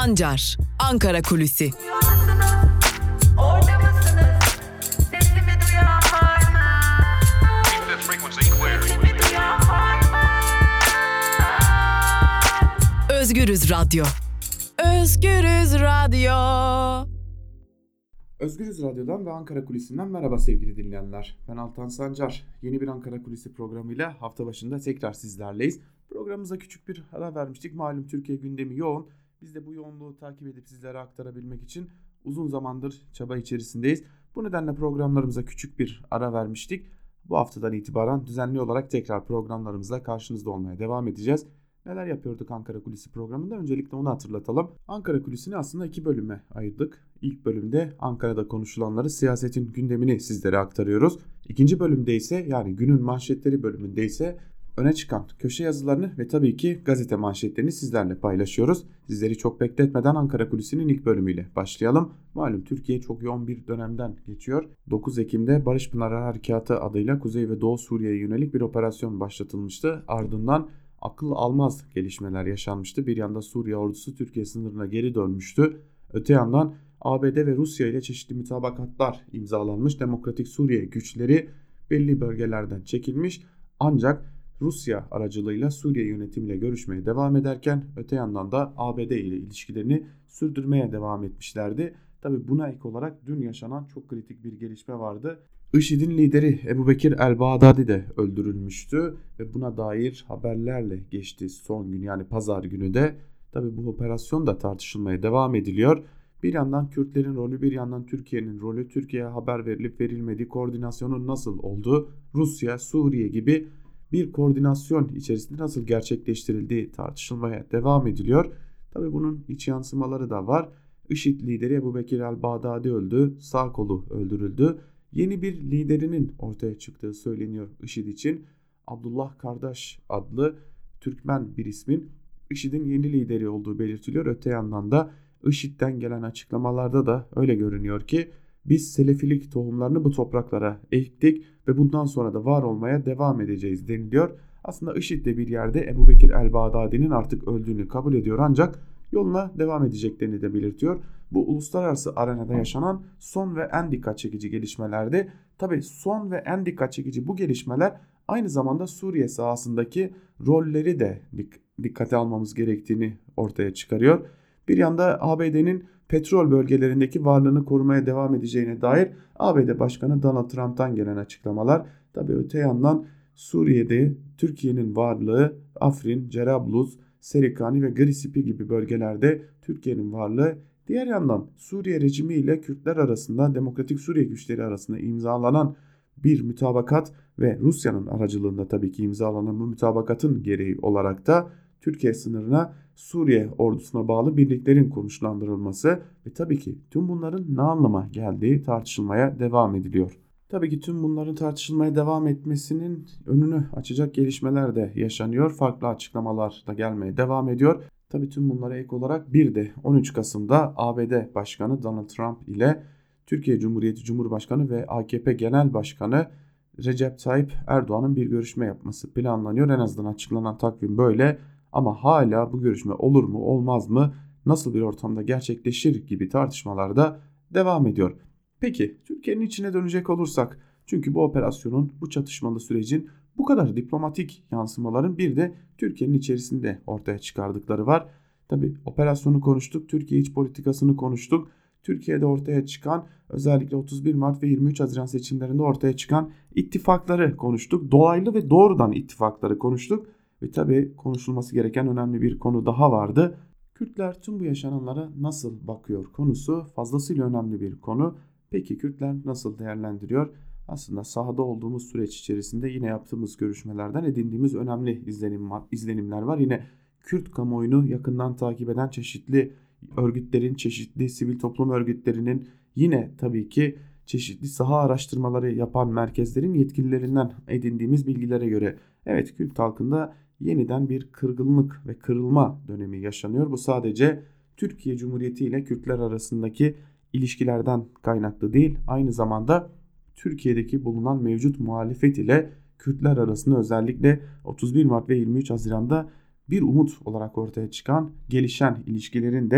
Sancar, Ankara Kulüsi. Özgürüz Radyo. Özgürüz Radyo. Özgürüz Radyo'dan ve Ankara Kulisi'nden merhaba sevgili dinleyenler. Ben Altan Sancar. Yeni bir Ankara Kulisi programıyla hafta başında tekrar sizlerleyiz. Programımıza küçük bir ara vermiştik. Malum Türkiye gündemi yoğun. Biz de bu yoğunluğu takip edip sizlere aktarabilmek için uzun zamandır çaba içerisindeyiz. Bu nedenle programlarımıza küçük bir ara vermiştik. Bu haftadan itibaren düzenli olarak tekrar programlarımızla karşınızda olmaya devam edeceğiz. Neler yapıyorduk Ankara Kulisi programında? Öncelikle onu hatırlatalım. Ankara Kulisi'ni aslında 2 bölüme ayırdık. İlk bölümde Ankara'da konuşulanları, siyasetin gündemini sizlere aktarıyoruz. İkinci bölümde ise, yani günün manşetleri bölümünde ise öne çıkan köşe yazılarını ve tabii ki gazete manşetlerini sizlerle paylaşıyoruz. Sizleri çok bekletmeden Ankara Kulisi'nin ilk bölümüyle başlayalım. Malum Türkiye çok yoğun bir dönemden geçiyor. 9 Ekim'de Barış Pınarı Harekatı adıyla Kuzey ve Doğu Suriye'ye yönelik bir operasyon başlatılmıştı. Ardından akıl almaz gelişmeler yaşanmıştı. Bir yanda Suriye ordusu Türkiye sınırına geri dönmüştü. Öte yandan ABD ve Rusya ile çeşitli mutabakatlar imzalanmış. Demokratik Suriye güçleri belli bölgelerden çekilmiş. Ancak Rusya aracılığıyla Suriye yönetimiyle görüşmeye devam ederken öte yandan da ABD ile ilişkilerini sürdürmeye devam etmişlerdi. Tabi buna ek olarak dün yaşanan çok kritik bir gelişme vardı. IŞİD'in lideri Ebubekir el-Bağdadi de öldürülmüştü ve buna dair haberlerle geçti son gün, yani pazar günü de. Tabi bu operasyon da tartışılmaya devam ediliyor. Bir yandan Kürtlerin rolü, bir yandan Türkiye'nin rolü, Türkiye'ye haber verilip verilmediği, koordinasyonun nasıl olduğu, Rusya, Suriye gibi bir koordinasyon içerisinde nasıl gerçekleştirildiği tartışılmaya devam ediliyor. Tabi bunun iç yansımaları da var. IŞİD lideri Ebubekir el-Bağdadi öldü, sağ kolu öldürüldü. Yeni bir liderinin ortaya çıktığı söyleniyor IŞİD için. Abdullah Kardaş adlı Türkmen bir ismin IŞİD'in yeni lideri olduğu belirtiliyor. Öte yandan da IŞİD'den gelen açıklamalarda da öyle görünüyor ki biz Selefilik tohumlarını bu topraklara ektik ve bundan sonra da var olmaya devam edeceğiz deniliyor. Aslında IŞİD de bir yerde Ebubekir el-Bağdadi'nin artık öldüğünü kabul ediyor, ancak yoluna devam edeceklerini de belirtiyor. Bu uluslararası arenada yaşanan son ve en dikkat çekici gelişmelerdi. Tabii son ve en dikkat çekici bu gelişmeler aynı zamanda Suriye sahasındaki rolleri de dikkate almamız gerektiğini ortaya çıkarıyor. Bir yanda ABD'nin petrol bölgelerindeki varlığını korumaya devam edeceğine dair ABD Başkanı Donald Trump'tan gelen açıklamalar. Tabii öte yandan Suriye'de Türkiye'nin varlığı, Afrin, Cerablus, Serikani ve Grisipi gibi bölgelerde Türkiye'nin varlığı. Diğer yandan Suriye rejimi ile Kürtler arasında, Demokratik Suriye güçleri arasında imzalanan bir mütabakat ve Rusya'nın aracılığında tabii ki imzalanan bu mütabakatın gereği olarak da Türkiye sınırına Suriye ordusuna bağlı birliklerin konuşlandırılması ve tabii ki tüm bunların ne anlama geldiği tartışılmaya devam ediliyor. Tabii ki tüm bunların tartışılmaya devam etmesinin önünü açacak gelişmeler de yaşanıyor. Farklı açıklamalar da gelmeye devam ediyor. Tabii tüm bunlara ek olarak bir de 13 Kasım'da ABD Başkanı Donald Trump ile Türkiye Cumhuriyeti Cumhurbaşkanı ve AKP Genel Başkanı Recep Tayyip Erdoğan'ın bir görüşme yapması planlanıyor. En azından açıklanan takvim böyle, ama hala bu görüşme olur mu olmaz mı, nasıl bir ortamda gerçekleşir gibi tartışmalar da devam ediyor. Peki Türkiye'nin içine dönecek olursak, çünkü bu operasyonun, bu çatışmalı sürecin bu kadar diplomatik yansımaların bir de Türkiye'nin içerisinde ortaya çıkardıkları var. Tabi operasyonu konuştuk, Türkiye iç politikasını konuştuk. Türkiye'de ortaya çıkan, özellikle 31 Mart ve 23 Haziran seçimlerinde ortaya çıkan ittifakları konuştuk. Dolaylı ve doğrudan ittifakları konuştuk. Ve tabi konuşulması gereken önemli bir konu daha vardı. Kürtler tüm bu yaşananlara nasıl bakıyor konusu fazlasıyla önemli bir konu. Peki Kürtler nasıl değerlendiriyor? Aslında sahada olduğumuz süreç içerisinde yine yaptığımız görüşmelerden edindiğimiz önemli izlenimler var. Yine Kürt kamuoyunu yakından takip eden çeşitli örgütlerin, çeşitli sivil toplum örgütlerinin, yine tabii ki çeşitli saha araştırmaları yapan merkezlerin yetkililerinden edindiğimiz bilgilere göre evet, Kürt halkında yeniden bir kırgınlık ve kırılma dönemi yaşanıyor. Bu sadece Türkiye Cumhuriyeti ile Kürtler arasındaki ilişkilerden kaynaklı değil, aynı zamanda Türkiye'deki bulunan mevcut muhalefet ile Kürtler arasında özellikle 31 Mart ve 23 Haziran'da bir umut olarak ortaya çıkan gelişen ilişkilerin de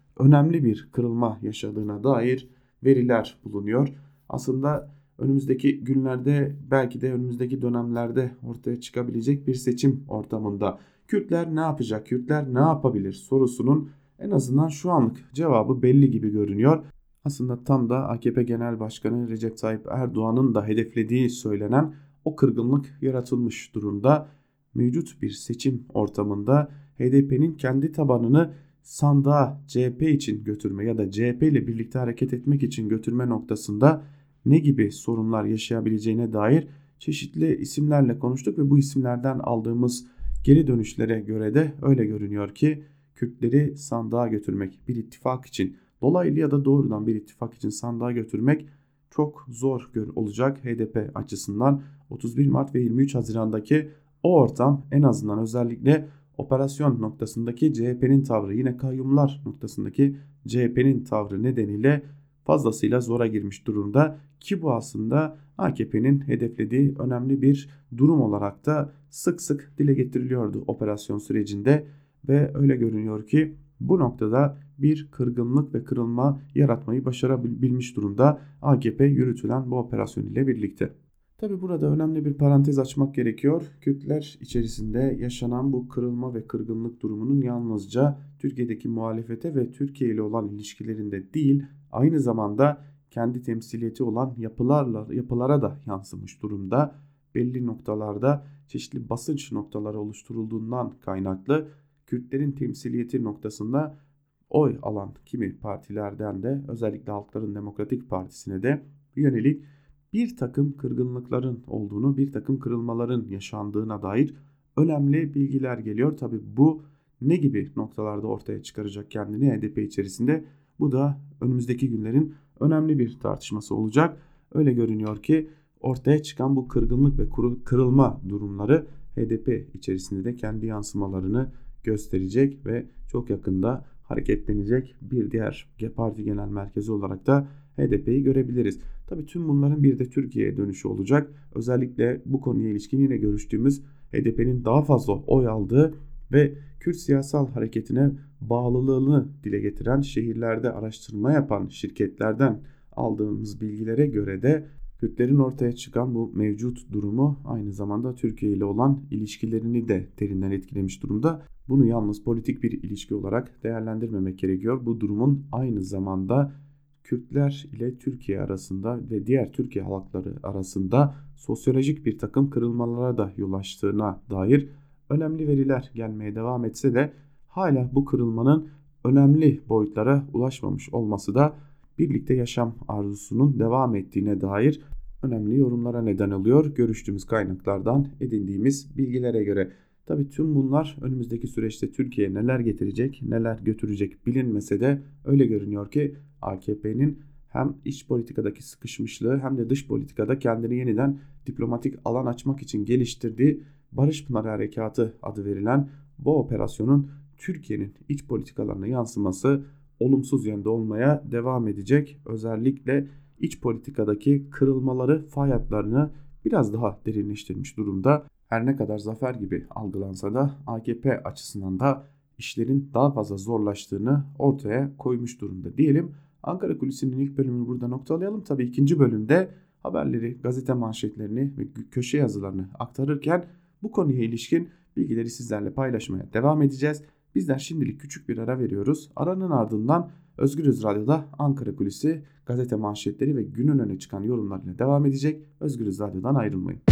önemli bir kırılma yaşadığına dair veriler bulunuyor. Aslında önümüzdeki günlerde, belki de önümüzdeki dönemlerde ortaya çıkabilecek bir seçim ortamında Kürtler ne yapacak, Kürtler ne yapabilir sorusunun en azından şu anlık cevabı belli gibi görünüyor. Aslında tam da AKP Genel Başkanı Recep Tayyip Erdoğan'ın da hedeflediği söylenen o kırgınlık yaratılmış durumda. Mevcut bir seçim ortamında HDP'nin kendi tabanını sandığa CHP için götürme ya da CHP ile birlikte hareket etmek için götürme noktasında ne gibi sorunlar yaşayabileceğine dair çeşitli isimlerle konuştuk ve bu isimlerden aldığımız geri dönüşlere göre de öyle görünüyor ki Kürtleri sandığa götürmek, bir ittifak için, dolaylı ya da doğrudan bir ittifak için sandığa götürmek çok zor olacak HDP açısından. 31 Mart ve 23 Haziran'daki o ortam en azından özellikle operasyon noktasındaki CHP'nin tavrı, yine kayyumlar noktasındaki CHP'nin tavrı nedeniyle fazlasıyla zora girmiş durumda ki bu aslında AKP'nin hedeflediği önemli bir durum olarak da sık sık dile getiriliyordu operasyon sürecinde ve öyle görünüyor ki bu noktada bir kırgınlık ve kırılma yaratmayı başarabilmiş durumda AKP yürütülen bu operasyon ile birlikte. Tabi burada önemli bir parantez açmak gerekiyor. Kürtler içerisinde yaşanan bu kırılma ve kırgınlık durumunun yalnızca Türkiye'deki muhalefete ve Türkiye ile olan ilişkilerinde değil, aynı zamanda kendi temsiliyeti olan yapılara da yansımış durumda. Belli noktalarda çeşitli basınç noktaları oluşturulduğundan kaynaklı Kürtlerin temsiliyeti noktasında oy alan kimi partilerden de özellikle Halkların Demokratik Partisi'ne de yönelik bir takım kırgınlıkların olduğunu, bir takım kırılmaların yaşandığına dair önemli bilgiler geliyor. Tabi bu ne gibi noktalarda ortaya çıkaracak kendini HDP içerisinde, bu da önümüzdeki günlerin önemli bir tartışması olacak. Öyle görünüyor ki ortaya çıkan bu kırgınlık ve kırılma durumları HDP içerisinde de kendi yansımalarını gösterecek ve çok yakında hareketlenecek bir diğer parti genel merkezi olarak da HDP'yi görebiliriz. Tabii tüm bunların bir de Türkiye'ye dönüşü olacak. Özellikle bu konuya ilişkin yine görüştüğümüz HDP'nin daha fazla oy aldığı ve Kürt siyasal hareketine bağlılığını dile getiren şehirlerde araştırma yapan şirketlerden aldığımız bilgilere göre de Kürtlerin ortaya çıkan bu mevcut durumu aynı zamanda Türkiye ile olan ilişkilerini de derinden etkilemiş durumda. Bunu yalnız politik bir ilişki olarak değerlendirmemek gerekiyor. Bu durumun aynı zamanda Kürtler ile Türkiye arasında ve diğer Türkiye halkları arasında sosyolojik bir takım kırılmalara da yol açtığına dair önemli veriler gelmeye devam etse de hala bu kırılmanın önemli boyutlara ulaşmamış olması da birlikte yaşam arzusunun devam ettiğine dair önemli yorumlara neden oluyor. Görüştüğümüz kaynaklardan edindiğimiz bilgilere göre. Tabii tüm bunlar önümüzdeki süreçte Türkiye'ye neler getirecek, neler götürecek bilinmese de öyle görünüyor ki AKP'nin hem iç politikadaki sıkışmışlığı hem de dış politikada kendini yeniden diplomatik alan açmak için geliştirdiği Barış Pınarı Harekatı adı verilen bu operasyonun Türkiye'nin iç politikalarına yansıması olumsuz yönde olmaya devam edecek. Özellikle iç politikadaki kırılmaları, fay hatlarını biraz daha derinleştirmiş durumda. Her ne kadar zafer gibi algılansa da AKP açısından da işlerin daha fazla zorlaştığını ortaya koymuş durumda diyelim. Ankara Kulisi'nin ilk bölümünü burada noktalayalım. Tabii ikinci bölümde haberleri, gazete manşetlerini ve köşe yazılarını aktarırken bu konuya ilişkin bilgileri sizlerle paylaşmaya devam edeceğiz. Bizler şimdilik küçük bir ara veriyoruz. Aranın ardından Özgürüz Radyo'da Ankara Kulisi gazete manşetleri ve günün öne çıkan yorumlarıyla devam edecek. Özgürüz Radyo'dan ayrılmayın.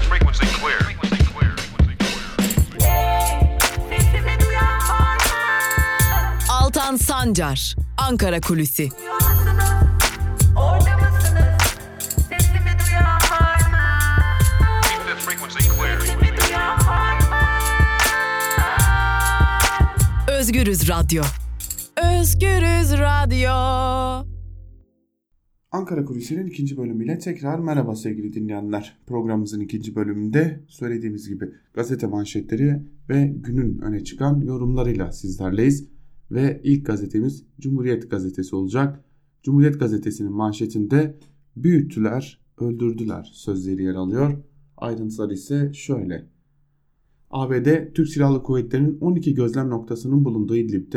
Altan Sancar, Ankara Kulisi. Özgürüz Radyo. Özgürüz Radyo. Ankara Kulisi'nin ikinci bölümüyle tekrar merhaba sevgili dinleyenler. Programımızın ikinci bölümünde söylediğimiz gibi gazete manşetleri ve günün öne çıkan yorumlarıyla sizlerleyiz. Ve ilk gazetemiz Cumhuriyet Gazetesi olacak. Cumhuriyet Gazetesi'nin manşetinde büyüttüler, öldürdüler sözleri yer alıyor. Ayrıntılar ise şöyle. ABD, Türk Silahlı Kuvvetleri'nin 12 gözlem noktasının bulunduğu İdlib'de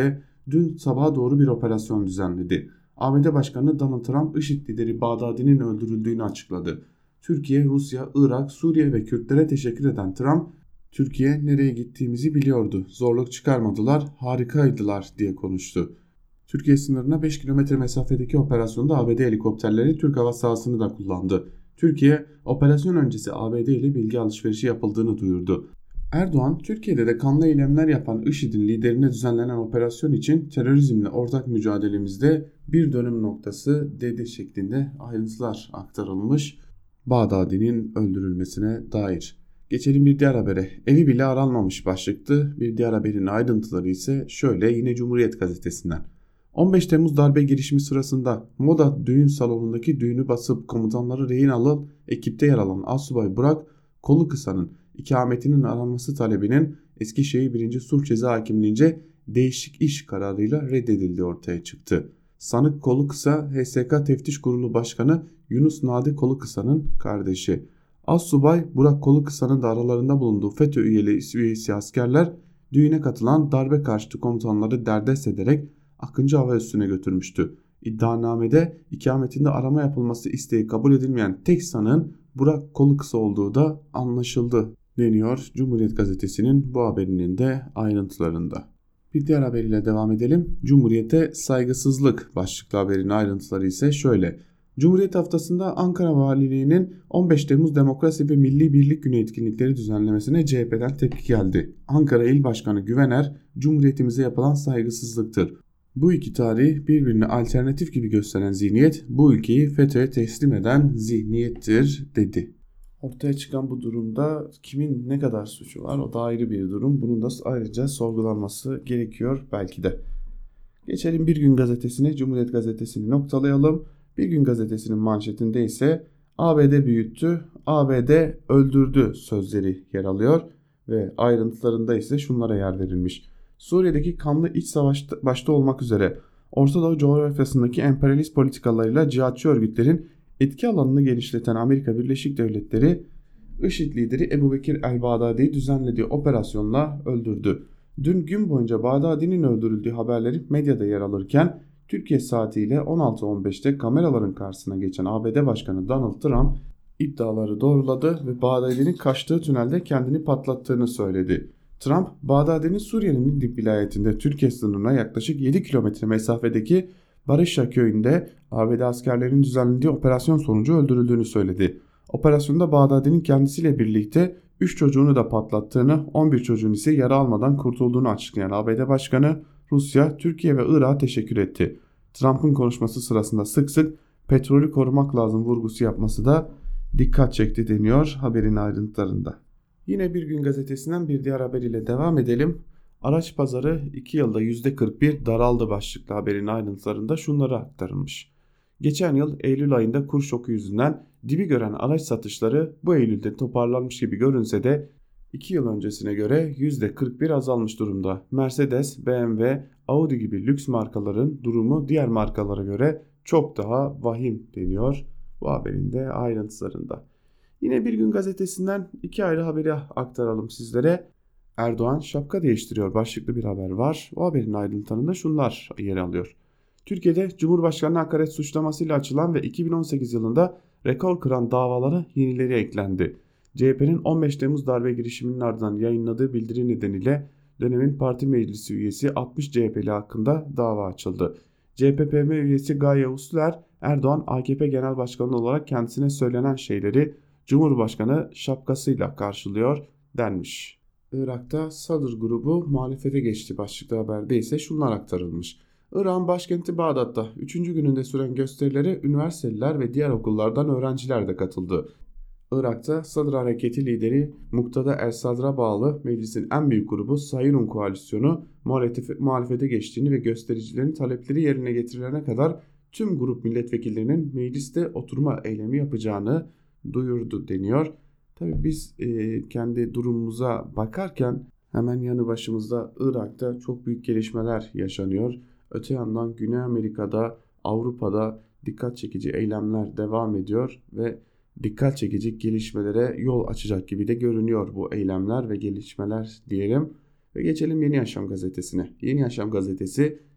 dün sabaha doğru bir operasyon düzenledi. ABD Başkanı Donald Trump, IŞİD lideri Bağdadi'nin öldürüldüğünü açıkladı. Türkiye, Rusya, Irak, Suriye ve Kürtlere teşekkür eden Trump, "Türkiye nereye gittiğimizi biliyordu, zorluk çıkarmadılar, harikaydılar" diye konuştu. Türkiye sınırına 5 kilometre mesafedeki operasyonda ABD helikopterleri Türk hava sahasını da kullandı. Türkiye, operasyon öncesi ABD ile bilgi alışverişi yapıldığını duyurdu. Erdoğan, Türkiye'de de kanlı eylemler yapan IŞİD'in liderine düzenlenen operasyon için terörizmle ortak mücadelemizde bir dönüm noktası dedi şeklinde ayrıntılar aktarılmış Bağdadi'nin öldürülmesine dair. Geçelim bir diğer habere. Evi bile aranmamış başlıktı. Bir diğer haberin ayrıntıları ise şöyle, yine Cumhuriyet Gazetesi'nden. 15 Temmuz darbe girişimi sırasında Moda düğün salonundaki düğünü basıp komutanları rehin alan ekipte yer alan Asubay Burak Kolukısa'nın ikametinin aranması talebinin Eskişehir 1. Sulh Ceza Hakimliğince değişik iş kararıyla reddedildiği ortaya çıktı. Sanık Kolukısa, HSK Teftiş Kurulu Başkanı Yunus Nadi Kolukısa'nın kardeşi. Assubay Burak Kolukısa'nın da aralarında bulunduğu FETÖ üyesi askerler düğüne katılan darbe karşıtı komutanları derdest ederek Akıncı Hava Üssü'ne götürmüştü. İddianamede ikametinde arama yapılması isteği kabul edilmeyen tek sanığın Burak Kolukısa olduğu da anlaşıldı deniyor Cumhuriyet Gazetesi'nin bu haberinin de ayrıntılarında. Bir diğer haberiyle devam edelim. Cumhuriyete saygısızlık başlıklı haberin ayrıntıları ise şöyle. Cumhuriyet haftasında Ankara Valiliği'nin 15 Temmuz Demokrasi ve Milli Birlik Günü etkinlikleri düzenlemesine CHP'den tepki geldi. Ankara İl Başkanı Güvener, "Cumhuriyetimize yapılan saygısızlıktır. Bu iki tarih birbirine alternatif gibi gösteren zihniyet bu ülkeyi FETÖ'ye teslim eden zihniyettir" dedi. Ortaya çıkan bu durumda kimin ne kadar suçu var, o da ayrı bir durum. Bunun da ayrıca sorgulanması gerekiyor belki de. Geçelim Bir Gün Gazetesi'ne. Cumhuriyet Gazetesi'ni noktalayalım. Bir Gün Gazetesi'nin manşetinde ise "ABD büyüttü, ABD öldürdü" sözleri yer alıyor ve ayrıntılarında ise şunlara yer verilmiş. Suriye'deki kanlı iç savaş başta olmak üzere Orta Doğu coğrafyasındaki emperyalist politikalarıyla cihatçı örgütlerin etki alanını genişleten Amerika Birleşik Devletleri, IŞİD lideri Ebu Bekir el-Bağdadi'yi düzenlediği operasyonla öldürdü. Dün gün boyunca Bağdadi'nin öldürüldüğü haberleri medyada yer alırken Türkiye saatiyle 16.15'te kameraların karşısına geçen ABD Başkanı Donald Trump iddiaları doğruladı ve Bağdadi'nin kaçtığı tünelde kendini patlattığını söyledi. Trump, Bağdadi'nin Suriye'nin İdlib vilayetinde Türkiye sınırına yaklaşık 7 kilometre mesafedeki Barışa köyünde ABD askerlerinin düzenlediği operasyon sonucu öldürüldüğünü söyledi. Operasyonda Bağdadi'nin kendisiyle birlikte 3 çocuğunu da patlattığını, 11 çocuğun ise yara almadan kurtulduğunu açıklayan ABD Başkanı, Rusya, Türkiye ve Irak'a teşekkür etti. Trump'ın konuşması sırasında sık sık petrolü korumak lazım vurgusu yapması da dikkat çekti deniyor haberin ayrıntılarında. Yine Bir Gün Gazetesi'nden bir diğer haber ile devam edelim. Araç pazarı 2 yılda %41 daraldı başlıklı haberin ayrıntılarında şunları aktarılmış. Geçen yıl Eylül ayında kur şoku yüzünden dibi gören araç satışları bu Eylül'de toparlanmış gibi görünse de 2 yıl öncesine göre %41 azalmış durumda. Mercedes, BMW, Audi gibi lüks markaların durumu diğer markalara göre çok daha vahim deniyor bu haberin de ayrıntılarında. Yine Bir Gün Gazetesi'nden iki ayrı haberi aktaralım sizlere. Erdoğan şapka değiştiriyor başlıklı bir haber var. O haberin ayrıntılarında şunlar yer alıyor. Türkiye'de Cumhurbaşkanı hakaret suçlamasıyla açılan ve 2018 yılında rekor kıran davalara yenileri eklendi. CHP'nin 15 Temmuz darbe girişiminin ardından yayınladığı bildiri nedeniyle dönemin parti meclisi üyesi 60 CHP'li hakkında dava açıldı. CHP-PM üyesi Gaye Usluer, Erdoğan AKP Genel Başkanı olarak kendisine söylenen şeyleri Cumhurbaşkanı şapkasıyla karşılıyor denmiş. Irak'ta Sadr grubu muhalefete geçti başlıklı haberde ise şunlar aktarılmış. Irak'ın başkenti Bağdat'ta 3. gününde süren gösterilere üniversiteliler ve diğer okullardan öğrenciler de katıldı. Irak'ta Sadr Hareketi lideri Muqtada el-Sadr'a bağlı meclisin en büyük grubu Sayrun Koalisyonu muhalefete geçtiğini ve göstericilerin talepleri yerine getirilene kadar tüm grup milletvekillerinin mecliste oturma eylemi yapacağını duyurdu deniyor. Tabii biz kendi durumumuza bakarken hemen yanı başımızda Irak'ta çok büyük gelişmeler yaşanıyor. Öte yandan Güney Amerika'da, Avrupa'da dikkat çekici eylemler devam ediyor ve dikkat çekici gelişmelere yol açacak gibi de görünüyor bu eylemler ve gelişmeler diyelim. Ve geçelim Yeni Yaşam gazetesine. Yeni Yaşam gazetesi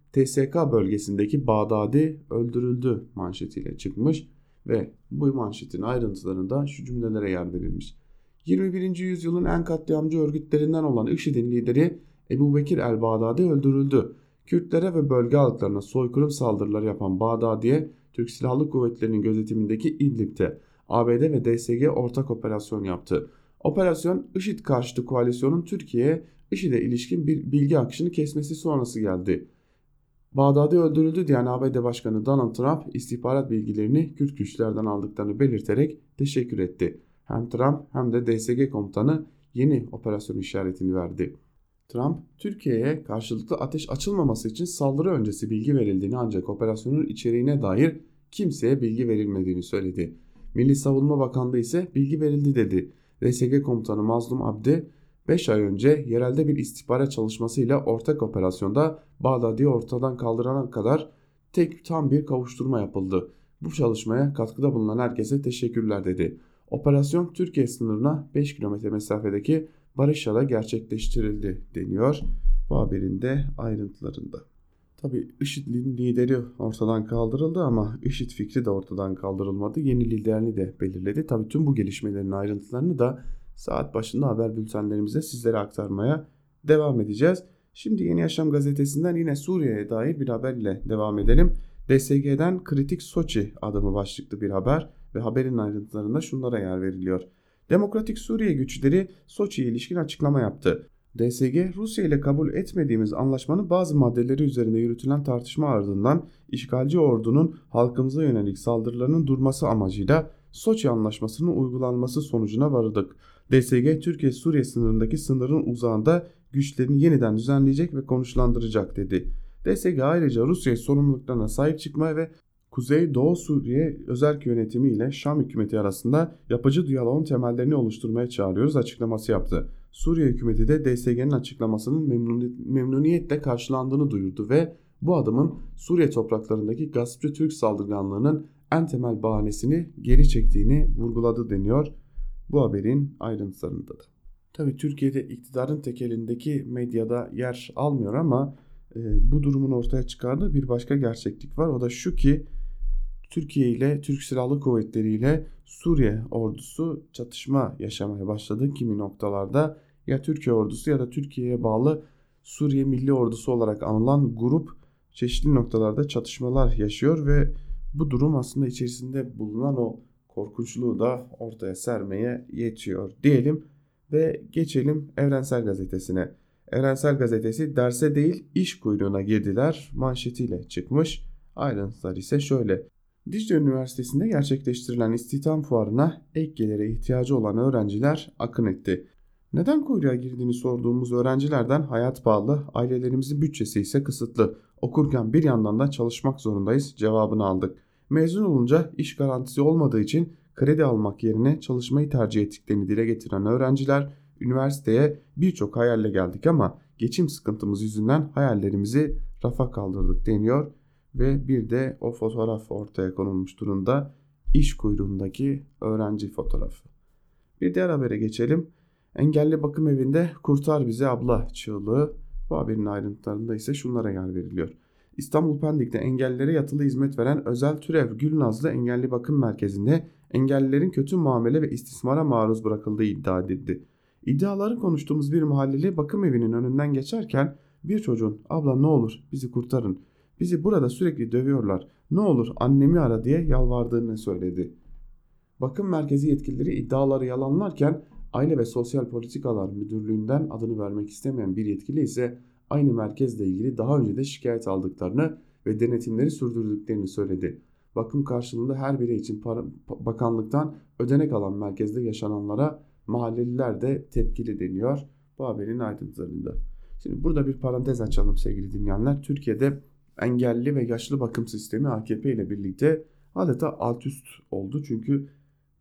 TSK bölgesindeki Bağdadi öldürüldü manşetiyle çıkmış ve bu manşetin ayrıntılarında şu cümlelere yer verilmiş. 21. yüzyılın en katliamcı örgütlerinden olan IŞİD'in lideri Ebu Bekir el-Bağdadi öldürüldü. Kürtlere ve bölge halklarına soykırım saldırıları yapan Bağdadi'ye Türk Silahlı Kuvvetleri'nin gözetimindeki İdlib'de ABD ve DSG ortak operasyon yaptı. Operasyon IŞİD karşıtı koalisyonun Türkiye'ye IŞİD'e ilişkin bir bilgi akışını kesmesi sonrası geldi. Bağdadi öldürüldü diyen ABD Başkanı Donald Trump istihbarat bilgilerini Kürt güçlerden aldıklarını belirterek teşekkür etti. Hem Trump hem de DSG komutanı yeni operasyon işaretini verdi. Trump, Türkiye'ye karşılıklı ateş açılmaması için saldırı öncesi bilgi verildiğini ancak operasyonun içeriğine dair kimseye bilgi verilmediğini söyledi. Milli Savunma Bakanlığı ise bilgi verildi dedi. DSG komutanı Mazlum Abdi, 5 ay önce yerelde bir istihbarat çalışmasıyla ortak operasyonda Bağdadi'yi ortadan kaldırana kadar tam bir kavuşturma yapıldı. Bu çalışmaya katkıda bulunan herkese teşekkürler dedi. Operasyon Türkiye sınırına 5 kilometre mesafedeki Barışya'da gerçekleştirildi deniyor bu haberin de ayrıntılarında. Tabi IŞİD'in lideri ortadan kaldırıldı ama IŞİD fikri de ortadan kaldırılmadı. Yeni liderini de belirledi. Tabi tüm bu gelişmelerin ayrıntılarını da saat başında haber bültenlerimizde sizlere aktarmaya devam edeceğiz. Şimdi Yeni Yaşam gazetesinden yine Suriye'ye dair bir haber ile devam edelim. DSG'den kritik Soçi adımı başlıklı bir haber ve haberin ayrıntılarında şunlara yer veriliyor. Demokratik Suriye güçleri Soçi'ye ilişkin açıklama yaptı. DSG, Rusya ile kabul etmediğimiz anlaşmanın bazı maddeleri üzerinde yürütülen tartışma ardından işgalci ordunun halkımıza yönelik saldırılarının durması amacıyla Soçi Anlaşması'nın uygulanması sonucuna vardık. DSG, Türkiye-Suriye sınırındaki sınırın uzağında güçlerini yeniden düzenleyecek ve konuşlandıracak dedi. DSG ayrıca Rusya sorumluluklarına sahip çıkmaya ve Kuzey-Doğu Suriye özerk yönetimi ile Şam hükümeti arasında yapıcı diyaloğun temellerini oluşturmaya çağırıyoruz açıklaması yaptı. Suriye hükümeti de DSG'nin açıklamasının memnuniyetle karşılandığını duyurdu ve bu adımın Suriye topraklarındaki gaspçı Türk saldırganlığının en temel bahanesini geri çektiğini vurguladı deniyor bu haberin ayrıntılarında da. Tabii Türkiye'de iktidarın tekelindeki medyada yer almıyor ama bu durumun ortaya çıkardığı bir başka gerçeklik var. O da şu ki Türkiye ile Türk Silahlı Kuvvetleri ile Suriye ordusu çatışma yaşamaya başladı. Kimi noktalarda ya Türkiye ordusu ya da Türkiye'ye bağlı Suriye Milli Ordusu olarak anılan grup çeşitli noktalarda çatışmalar yaşıyor ve bu durum aslında içerisinde bulunan o korkunçluğu da ortaya sermeye yetiyor diyelim ve geçelim Evrensel Gazetesi'ne. Evrensel Gazetesi derse değil iş kuyruğuna girdiler manşetiyle çıkmış. Ayrıntılar ise şöyle. Dicle Üniversitesi'nde gerçekleştirilen istihdam fuarına ek gelire ihtiyacı olan öğrenciler akın etti. Neden kuyruğa girdiğini sorduğumuz öğrencilerden hayat pahalı, ailelerimizin bütçesi ise kısıtlı. Okurken bir yandan da çalışmak zorundayız cevabını aldık. Mezun olunca iş garantisi olmadığı için kredi almak yerine çalışmayı tercih ettiklerini dile getiren öğrenciler üniversiteye birçok hayalle geldik ama geçim sıkıntımız yüzünden hayallerimizi rafa kaldırdık deniyor. Ve bir de o fotoğraf ortaya konulmuş durumda. İş kuyruğundaki öğrenci fotoğrafı. Bir diğer habere geçelim. Engelli bakım evinde kurtar bizi abla çığlığı. Bu haberin ayrıntılarında ise şunlara yer veriliyor. İstanbul Pendik'te engellilere yatılı hizmet veren Özel Türev Gülnazlı Engelli Bakım Merkezi'nde engellilerin kötü muamele ve istismara maruz bırakıldığı iddia edildi. İddiaları konuştuğumuz bir mahalleli bakım evinin önünden geçerken bir çocuğun abla ne olur bizi kurtarın. Bizi burada sürekli dövüyorlar. Ne olur annemi ara diye yalvardığını söyledi. Bakım merkezi yetkilileri iddiaları yalanlarken Aile ve Sosyal Politikalar Müdürlüğü'nden adını vermek istemeyen bir yetkili ise aynı merkezle ilgili daha önce de şikayet aldıklarını ve denetimleri sürdürdüklerini söyledi. Bakım karşılığında her birey için bakanlıktan ödenek alan merkezde yaşananlara mahalleliler de tepkili deniyor bu haberin ayrıntılarında. Şimdi burada bir parantez açalım sevgili dinleyenler. Türkiye'de engelli ve yaşlı bakım sistemi AKP ile birlikte adeta alt üst oldu. Çünkü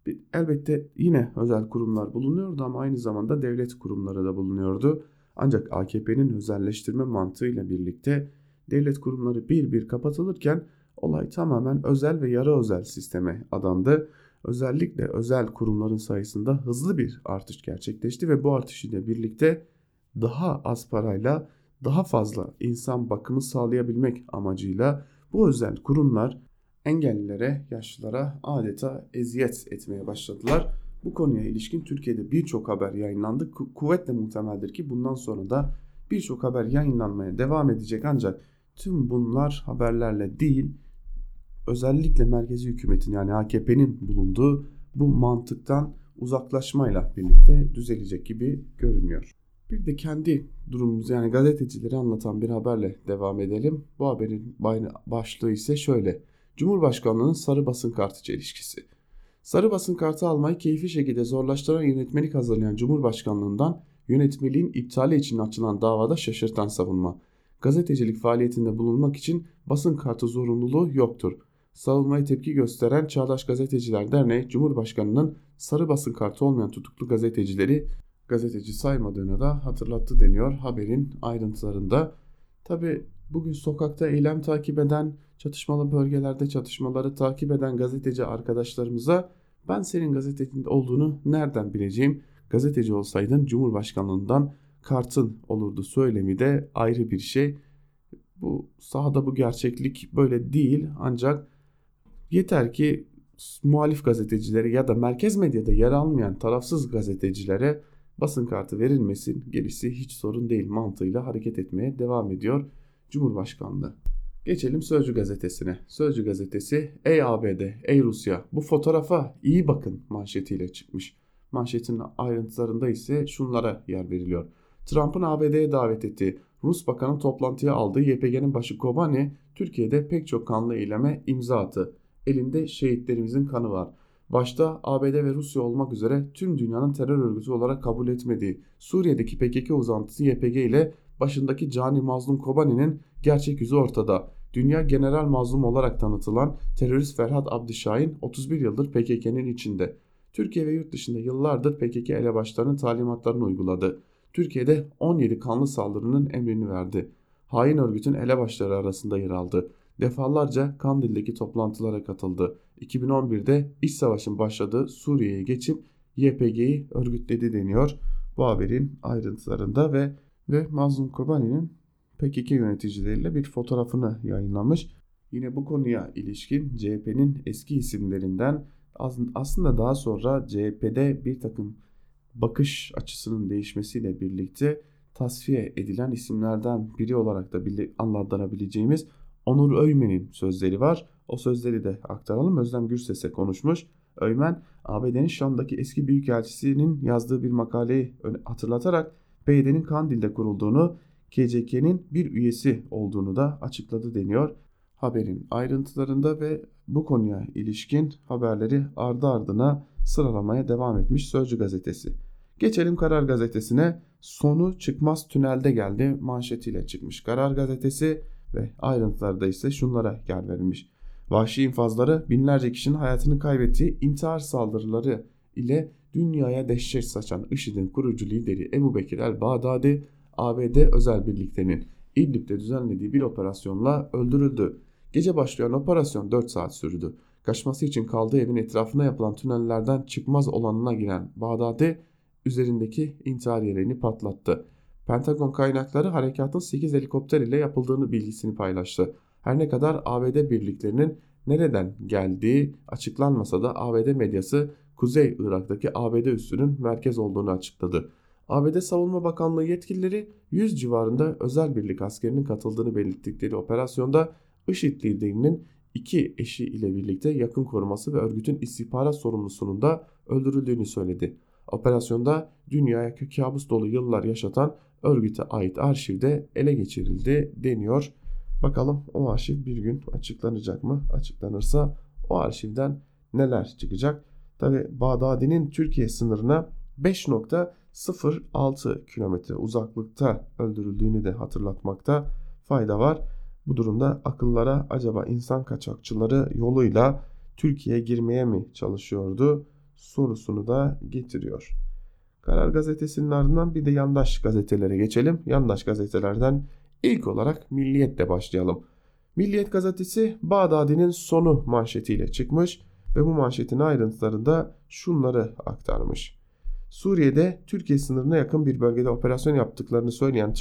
elbette yine özel kurumlar bulunuyordu ama aynı zamanda devlet kurumları da bulunuyordu. Ancak AKP'nin özelleştirme mantığıyla birlikte devlet kurumları bir bir kapatılırken olay tamamen özel ve yarı özel sisteme adandı. Özellikle özel kurumların sayısında hızlı bir artış gerçekleşti ve bu artış ile birlikte daha az parayla daha fazla insan bakımı sağlayabilmek amacıyla bu özel kurumlar engellilere, yaşlılara adeta eziyet etmeye başladılar. Bu konuya ilişkin Türkiye'de birçok haber yayınlandı. Kuvvetle muhtemeldir ki bundan sonra da birçok haber yayınlanmaya devam edecek, ancak tüm bunlar haberlerle değil, özellikle merkezi hükümetin yani AKP'nin bulunduğu bu mantıktan uzaklaşmayla birlikte düzelecek gibi görünüyor. Bir de kendi durumumuz yani gazetecileri anlatan bir haberle devam edelim. Bu haberin başlığı ise şöyle: Cumhurbaşkanlığının sarı basın kartı çelişkisi. Sarı basın kartı almayı keyfi şekilde zorlaştıran yönetmelik hazırlayan Cumhurbaşkanlığından yönetmeliğin iptali için açılan davada şaşırtan savunma. Gazetecilik faaliyetinde bulunmak için basın kartı zorunluluğu yoktur. Savunmaya tepki gösteren Çağdaş Gazeteciler Derneği, Cumhurbaşkanı'nın sarı basın kartı olmayan tutuklu gazetecileri gazeteci saymadığını da hatırlattı deniyor haberin ayrıntılarında. Tabi bugün sokakta eylem takip eden, çatışmalı bölgelerde çatışmaları takip eden gazeteci arkadaşlarımıza ben senin gazetecinin olduğunu nereden bileceğim? Gazeteci olsaydın Cumhurbaşkanlığından kartın olurdu söylemi de ayrı bir şey. Bu sahada bu gerçeklik böyle değil, ancak yeter ki muhalif gazetecilere ya da merkez medyada yer almayan tarafsız gazetecilere basın kartı verilmesin, gerisi hiç sorun değil mantığıyla hareket etmeye devam ediyor Cumhurbaşkanlığı. Geçelim Sözcü gazetesine. Sözcü gazetesi ey ABD, ey Rusya bu fotoğrafa iyi bakın manşetiyle çıkmış. Manşetin ayrıntılarında ise şunlara yer veriliyor. Trump'ın ABD'ye davet ettiği Rus bakanı toplantıya aldığı YPG'nin başı Kobani, Türkiye'de pek çok kanlı eyleme imza attı. Elinde şehitlerimizin kanı var. Başta ABD ve Rusya olmak üzere tüm dünyanın terör örgütü olarak kabul etmediği Suriye'deki PKK uzantısı YPG ile başındaki cani mazlum Kobani'nin gerçek yüzü ortada. Dünya general mazlum olarak tanıtılan terörist Ferhat Abdişahin 31 yıldır PKK'nın içinde. Türkiye ve yurt dışında yıllardır PKK elebaşlarının talimatlarını uyguladı. Türkiye'de 17 kanlı saldırının emrini verdi. Hain örgütün elebaşları arasında yer aldı. Defalarca Kandil'deki toplantılara katıldı. 2011'de iç savaşın başladığı Suriye'ye geçip YPG'yi örgütledi deniyor bu haberin ayrıntılarında ve Mazlum Kobani'nin PKK yöneticileriyle bir fotoğrafını yayınlamış. Yine bu konuya ilişkin CHP'nin eski isimlerinden aslında daha sonra CHP'de bir takım bakış açısının değişmesiyle birlikte tasfiye edilen isimlerden biri olarak da adlandırabileceğimiz Onur Öymen'in sözleri var. O sözleri de aktaralım. Özlem Gürses'e konuşmuş. Öymen, ABD'nin Şam'daki eski büyükelçisinin yazdığı bir makaleyi hatırlatarak PYD'nin Kandil'de kurulduğunu, KCK'nin bir üyesi olduğunu da açıkladı deniyor haberin ayrıntılarında ve bu konuya ilişkin haberleri ardı ardına sıralamaya devam etmiş Sözcü gazetesi. Geçelim Karar gazetesine. Sonu çıkmaz tünelde geldi manşetiyle çıkmış Karar gazetesi ve ayrıntılarda ise şunlara yer verilmiş. Vahşi infazları binlerce kişinin hayatını kaybettiği intihar saldırıları ile dünyaya dehşet saçan IŞİD'in kurucu lideri Ebu Bekir el-Bağdadi, ABD özel birliklerinin İdlib'de düzenlediği bir operasyonla öldürüldü. Gece başlayan operasyon 4 saat sürdü. Kaçması için kaldığı evin etrafına yapılan tünellerden çıkmaz olanına giren Bağdadi üzerindeki intihar yeleğini patlattı. Pentagon kaynakları harekatın 8 helikopter ile yapıldığını bilgisini paylaştı. Her ne kadar ABD birliklerinin nereden geldiği açıklanmasa da ABD medyası Kuzey Irak'taki ABD üssünün merkez olduğunu açıkladı. ABD Savunma Bakanlığı yetkilileri 100 civarında özel birlik askerinin katıldığını belirttikleri operasyonda IŞİD liderinin 2 eşi ile birlikte yakın koruması ve örgütün istihbarat sorumlusunun da öldürüldüğünü söyledi. Operasyonda dünyaya kabus dolu yıllar yaşatan örgüte ait arşivde ele geçirildi deniyor. Bakalım o arşiv bir gün açıklanacak mı? Açıklanırsa o arşivden neler çıkacak? Tabi Bağdadi'nin Türkiye sınırına 5.06 kilometre uzaklıkta öldürüldüğünü de hatırlatmakta fayda var. Bu durumda akıllara acaba insan kaçakçıları yoluyla Türkiye'ye girmeye mi çalışıyordu sorusunu da getiriyor. Karar gazetesinin ardından bir de yandaş gazetelere geçelim. Yandaş gazetelerden ilk olarak Milliyet'le başlayalım. Milliyet gazetesi Bağdadi'nin sonu manşetiyle çıkmış ve bu manşetin ayrıntılarında şunları aktarmış. Suriye'de Türkiye sınırına yakın bir bölgede operasyon yaptıklarını söyleyen Trump,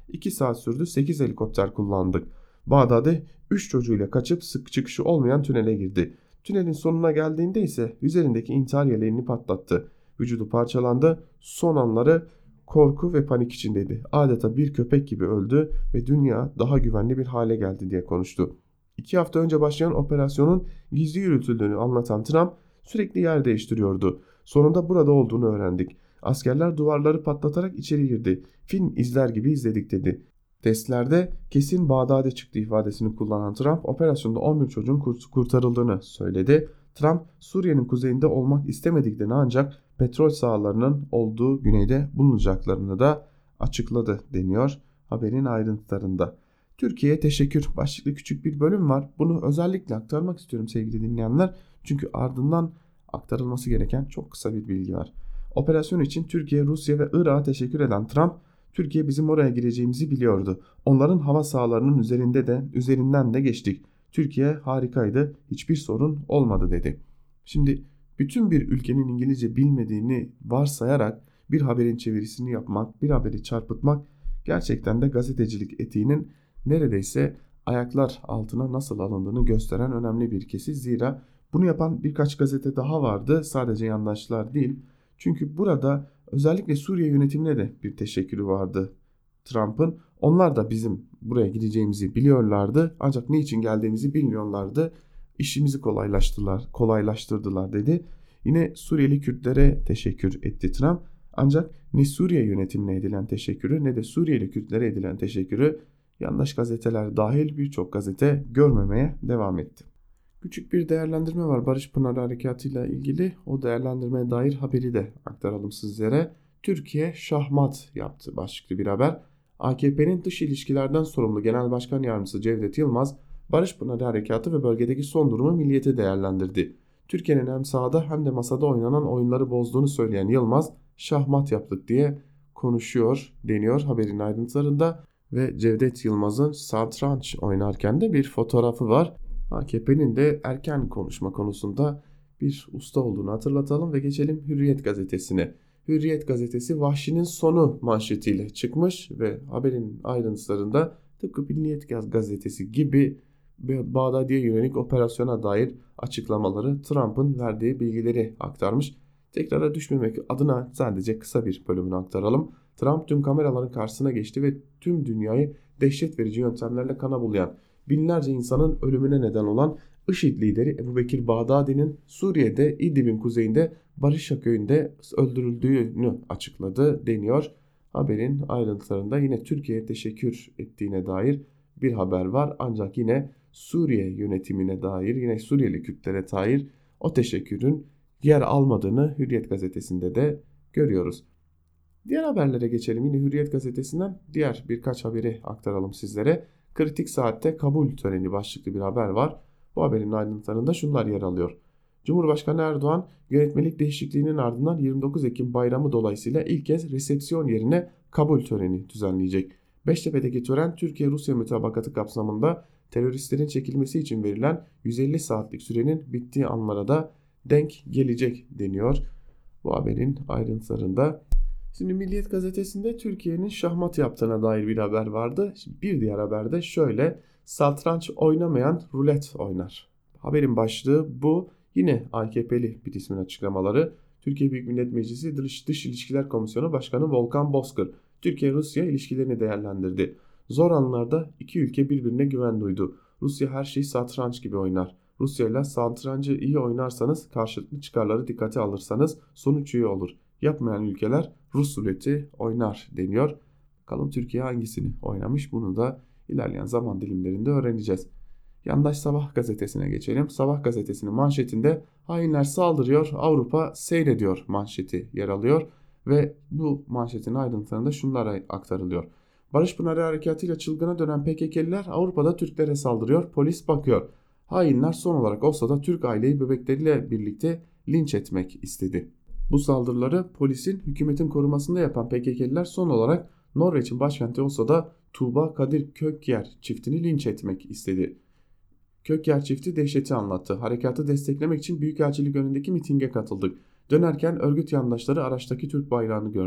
2 saat sürdü, 8 helikopter kullandık. Bağdadi 3 çocuğuyla kaçıp sık çıkışı olmayan tünele girdi. Tünelin sonuna geldiğinde ise üzerindeki intihar yeleğini patlattı. Vücudu parçalandı, son anları korku ve panik içindeydi. Adeta bir köpek gibi öldü ve dünya daha güvenli bir hale geldi diye konuştu. 2 hafta önce başlayan operasyonun gizli yürütüldüğünü anlatan Trump sürekli yer değiştiriyordu. Sonunda burada olduğunu öğrendik. Askerler duvarları patlatarak içeri girdi. Film izler gibi izledik dedi. Testlerde kesin Bağdadi çıktı ifadesini kullanan Trump operasyonda 11 çocuğun kurtarıldığını söyledi. Trump Suriye'nin kuzeyinde olmak istemediklerini ancak petrol sahalarının olduğu güneyde bulunacaklarını da açıkladı deniyor haberin ayrıntılarında. Türkiye'ye teşekkür başlıklı küçük bir bölüm var. Bunu özellikle aktarmak istiyorum sevgili dinleyenler. Çünkü ardından aktarılması gereken çok kısa bir bilgi var. Operasyon için Türkiye, Rusya ve Irak'a teşekkür eden Trump, Türkiye bizim oraya gireceğimizi biliyordu. Onların hava sahalarının üzerinden de geçtik. Türkiye harikaydı, hiçbir sorun olmadı dedi. Şimdi bütün bir ülkenin İngilizce bilmediğini varsayarak bir haberin çevirisini yapmak, bir haberi çarpıtmak gerçekten de gazetecilik etiğinin neredeyse ayaklar altına nasıl alındığını gösteren önemli bir kesit. Zira bunu yapan birkaç gazete daha vardı, sadece yandaşlar değil. Çünkü burada özellikle Suriye yönetimine de bir teşekkürü vardı Trump'ın. Onlar da bizim buraya gideceğimizi biliyorlardı ancak niçin geldiğimizi bilmiyorlardı. İşimizi kolaylaştırdılar dedi. Yine Suriyeli Kürtlere teşekkür etti Trump. Ancak ne Suriye yönetimine edilen teşekkürü ne de Suriyeli Kürtlere edilen teşekkürü yandaş gazeteler dahil birçok gazete görmemeye devam etti. Küçük bir değerlendirme var Barış Pınarı Harekatı ile ilgili. O değerlendirmeye dair haberi de aktaralım sizlere. Türkiye şahmat yaptı başlıklı bir haber. AKP'nin dış ilişkilerden sorumlu Genel Başkan Yardımcısı Cevdet Yılmaz, Barış Pınarı Harekatı ve bölgedeki son durumu Milliyet'e değerlendirdi. Türkiye'nin hem sahada hem de masada oynanan oyunları bozduğunu söyleyen Yılmaz, şahmat yaptık diye konuşuyor deniyor haberin ayrıntılarında. Ve Cevdet Yılmaz'ın satranç oynarken de bir fotoğrafı var. AKP'nin de erken konuşma konusunda bir usta olduğunu hatırlatalım ve geçelim Hürriyet gazetesine. Hürriyet gazetesi Vahşinin Sonu manşetiyle çıkmış ve haberin ayrıntılarında tıpkı Milliyet gazetesi gibi Bağdadi'ye yönelik operasyona dair açıklamaları, Trump'ın verdiği bilgileri aktarmış. Tekrara düşmemek adına sadece kısa bir bölümünü aktaralım. Trump tüm kameraların karşısına geçti ve tüm dünyayı dehşet verici yöntemlerle kana bulayan, binlerce insanın ölümüne neden olan IŞİD lideri Ebubekir Bağdadi'nin Suriye'de İdlib'in kuzeyinde Barışa köyünde öldürüldüğünü açıkladı deniyor. Haberin ayrıntılarında yine Türkiye'ye teşekkür ettiğine dair bir haber var. Ancak yine Suriye yönetimine dair, yine Suriyeli Kürtlere dair o teşekkürün yer almadığını Hürriyet gazetesinde de görüyoruz. Diğer haberlere geçelim. Yine Hürriyet gazetesinden diğer birkaç haberi aktaralım sizlere. Kritik saatte kabul töreni başlıklı bir haber var. Bu haberin ayrıntılarında şunlar yer alıyor. Cumhurbaşkanı Erdoğan yönetmelik değişikliğinin ardından 29 Ekim bayramı dolayısıyla ilk kez resepsiyon yerine kabul töreni düzenleyecek. Beştepe'deki tören Türkiye-Rusya mütabakatı kapsamında teröristlerin çekilmesi için verilen 150 saatlik sürenin bittiği anlara da denk gelecek deniyor bu haberin ayrıntılarında. Şimdi Milliyet gazetesinde Türkiye'nin şahmat yaptığına dair bir haber vardı. Şimdi bir diğer haberde şöyle: satranç oynamayan rulet oynar. Haberin başlığı bu. Yine AKP'li bir ismin açıklamaları. Türkiye Büyük Millet Meclisi Dış İlişkiler Komisyonu Başkanı Volkan Bozkır Türkiye-Rusya ilişkilerini değerlendirdi. Zor anlarda iki ülke birbirine güven duydu. Rusya her şeyi satranç gibi oynar. Rusya ile satrancı iyi oynarsanız, karşılıklı çıkarları dikkate alırsanız sonuç iyi olur. Yapmayan ülkeler Rus ruleti oynar deniyor. Bakalım Türkiye hangisini oynamış, bunu da ilerleyen zaman dilimlerinde öğreneceğiz. Yandaş Sabah gazetesine geçelim. Sabah gazetesinin manşetinde hainler saldırıyor, Avrupa seyrediyor manşeti yer alıyor. Ve bu manşetin ayrıntılarında şunlar aktarılıyor. Barış Pınarı Harekatı'yla çılgına dönen PKK'liler Avrupa'da Türklere saldırıyor, polis bakıyor. Hainler son olarak olsa da Türk aileyi bebekleriyle birlikte linç etmek istedi. Bu saldırıları polisin, hükümetin korumasında yapan PKK'liler son olarak Norveç'in başkenti olsa da Tuğba Kadir Kökyer çiftini linç etmek istedi. Kökyer çifti dehşeti anlattı. Harekatı desteklemek için Büyükelçilik önündeki mitinge katıldık. Dönerken örgüt yandaşları araçtaki Türk bayrağını gördü.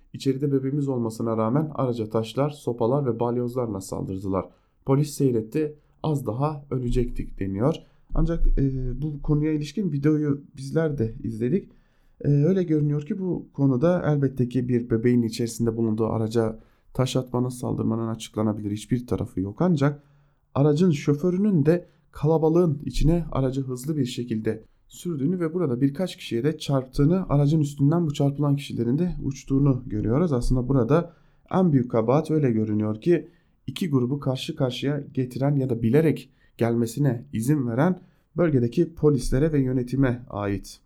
İçeride bebeğimiz olmasına rağmen araca taşlar, sopalar ve balyozlarla saldırdılar. Polis seyretti, az daha ölecektik deniyor. Ancak bu konuya ilişkin videoyu bizler de izledik. Öyle görünüyor ki bu konuda elbette ki bir bebeğin içerisinde bulunduğu araca taş atmanın, saldırmanın açıklanabilir hiçbir tarafı yok. Ancak aracın şoförünün de kalabalığın içine aracı hızlı bir şekilde sürdüğünü ve burada birkaç kişiye de çarptığını, aracın üstünden bu çarpılan kişilerin de uçtuğunu görüyoruz. Aslında burada en büyük kabahat öyle görünüyor ki iki grubu karşı karşıya getiren ya da bilerek gelmesine izin veren bölgedeki polislere ve yönetime ait.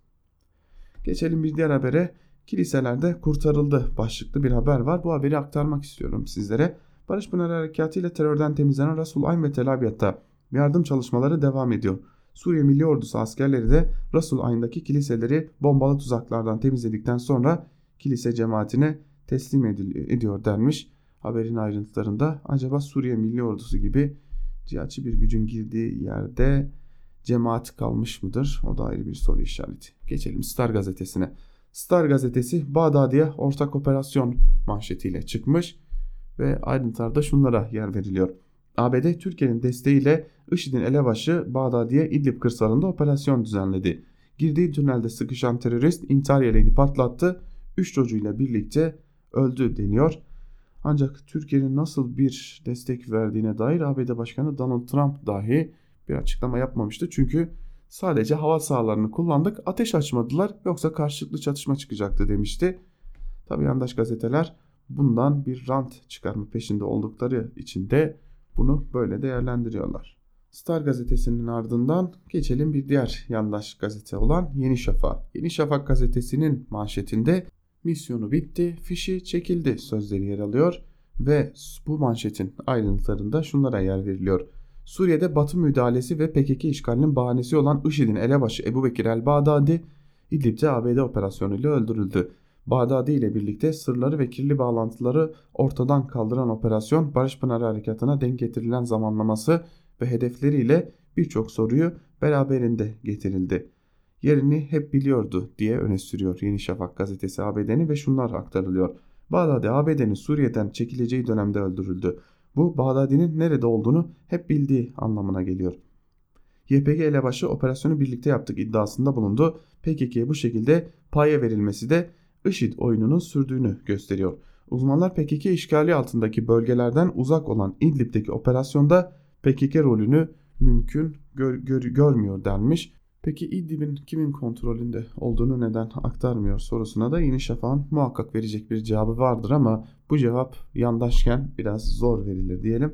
Geçelim bir diğer habere. Kiliselerde kurtarıldı başlıklı bir haber var. Bu haberi aktarmak istiyorum sizlere. Barış Pınarı Harekatı ile terörden temizlenen Rasul Ayn ve Tel Abyad'da yardım çalışmaları devam ediyor. Suriye Milli Ordusu askerleri de Rasul Ayn'daki kiliseleri bombalı tuzaklardan temizledikten sonra kilise cemaatine teslim ediyor denmiş. Haberin ayrıntılarında acaba Suriye Milli Ordusu gibi cihatçı bir gücün girdiği yerde cemaat kalmış mıdır? O da ayrı bir soru işareti. Geçelim Star gazetesine. Star gazetesi Bağdadi'ye ortak operasyon manşetiyle çıkmış ve ayrıntılarda şunlara yer veriliyor. ABD Türkiye'nin desteğiyle IŞİD'in elebaşı Bağdadi'ye İdlib kırsalında operasyon düzenledi. Girdiği tünelde sıkışan terörist intihar yeleğini patlattı. 3 çocuğuyla birlikte öldü deniyor. Ancak Türkiye'nin nasıl bir destek verdiğine dair ABD Başkanı Donald Trump dahi bir açıklama yapmamıştı. Çünkü sadece hava sahalarını kullandık, ateş açmadılar, yoksa karşılıklı çatışma çıkacaktı demişti. Tabi yandaş gazeteler bundan bir rant çıkarma peşinde oldukları için de bunu böyle değerlendiriyorlar. Star gazetesinin ardından geçelim bir diğer yandaş gazete olan Yeni Şafak. Yeni Şafak gazetesinin manşetinde misyonu bitti, fişi çekildi sözleri yer alıyor ve bu manşetin ayrıntılarında şunlara yer veriliyor. Suriye'de Batı müdahalesi ve PKK işgalinin bahanesi olan IŞİD'in elebaşı Ebu Bekir el-Bağdadi, İdlib'de ABD operasyonuyla öldürüldü. Bağdadi ile birlikte sırları ve kirli bağlantıları ortadan kaldıran operasyon Barış Pınarı Harekatı'na denk getirilen zamanlaması ve hedefleriyle birçok soruyu beraberinde getirildi. Yerini hep biliyordu diye öne sürüyor Yeni Şafak gazetesi ABD'ni ve şunlar aktarılıyor. Bağdadi ABD'nin Suriye'den çekileceği dönemde öldürüldü. Bu Bağdadi'nin nerede olduğunu hep bildiği anlamına geliyor. YPG elebaşı operasyonu birlikte yaptık iddiasında bulundu. PKK'ye bu şekilde paya verilmesi de IŞİD oyununun sürdüğünü gösteriyor. Uzmanlar PKK işgali altındaki bölgelerden uzak olan İdlib'deki operasyonda PKK rolünü mümkün görmüyor denmiş. Peki İdlib'in kimin kontrolünde olduğunu neden aktarmıyor sorusuna da Yeni Şafak'ın muhakkak verecek bir cevabı vardır ama bu cevap yandaşken biraz zor verilir diyelim.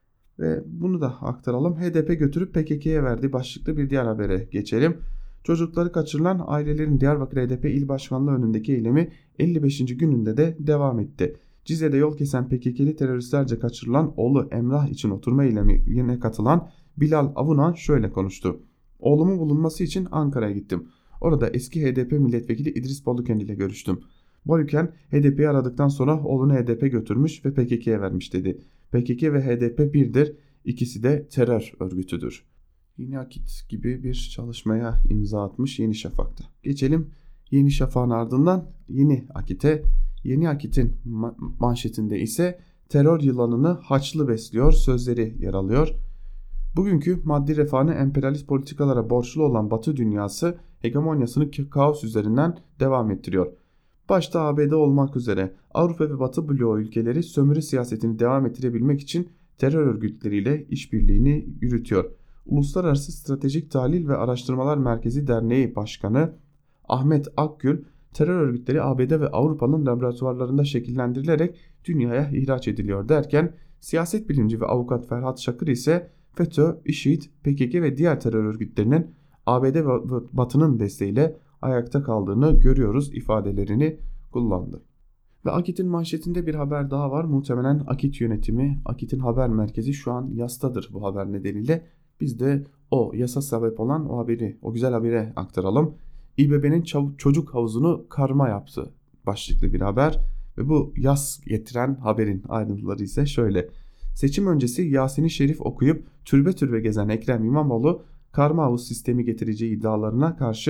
Ve bunu da aktaralım. HDP götürüp PKK'ye verdiği başlıklı bir diğer habere geçelim. Çocukları kaçırılan ailelerin Diyarbakır HDP İl Başkanlığı önündeki eylemi 55. gününde de devam etti. Cize'de yol kesen PKK'li teröristlerce kaçırılan oğlu Emrah için oturma eylemine katılan Bilal Avunan şöyle konuştu. Oğlumun bulunması için Ankara'ya gittim. Orada eski HDP milletvekili İdris Baluken ile görüştüm. Baluken HDP'yi aradıktan sonra oğlunu HDP götürmüş ve PKK'ye vermiş dedi. PKK ve HDP birdir, ikisi de terör örgütüdür. Yeni Akit gibi bir çalışmaya imza atmış Yeni Şafak'ta. Geçelim Yeni Şafak'ın ardından Yeni Akit'e. Yeni Akit'in manşetinde ise terör yılanını haçlı besliyor sözleri yer alıyor. Bugünkü maddi refahını emperyalist politikalara borçlu olan Batı dünyası hegemonyasını kaos üzerinden devam ettiriyor. Başta ABD olmak üzere Avrupa ve Batı bloğu ülkeleri sömürü siyasetini devam ettirebilmek için terör örgütleriyle işbirliğini yürütüyor. Uluslararası Stratejik Tahlil ve Araştırmalar Merkezi Derneği Başkanı Ahmet Akgül, terör örgütleri ABD ve Avrupa'nın laboratuvarlarında şekillendirilerek dünyaya ihraç ediliyor derken siyaset bilimci ve avukat Ferhat Şakır ise FETÖ, IŞİD, PKK ve diğer terör örgütlerinin ABD ve Batı'nın desteğiyle ayakta kaldığını görüyoruz ifadelerini kullandı. Ve Akit'in manşetinde bir haber daha var. Muhtemelen Akit yönetimi, Akit'in haber merkezi şu an yastadır bu haber nedeniyle. Biz de o yasa sebep olan o haberi, o güzel habere aktaralım. İBB'nin çocuk havuzunu karma yaptı başlıklı bir haber ve bu yas getiren haberin ayrıntıları ise şöyle. Seçim öncesi Yasin-i Şerif okuyup türbe türbe gezen Ekrem İmamoğlu karma havuz sistemi getireceği iddialarına karşı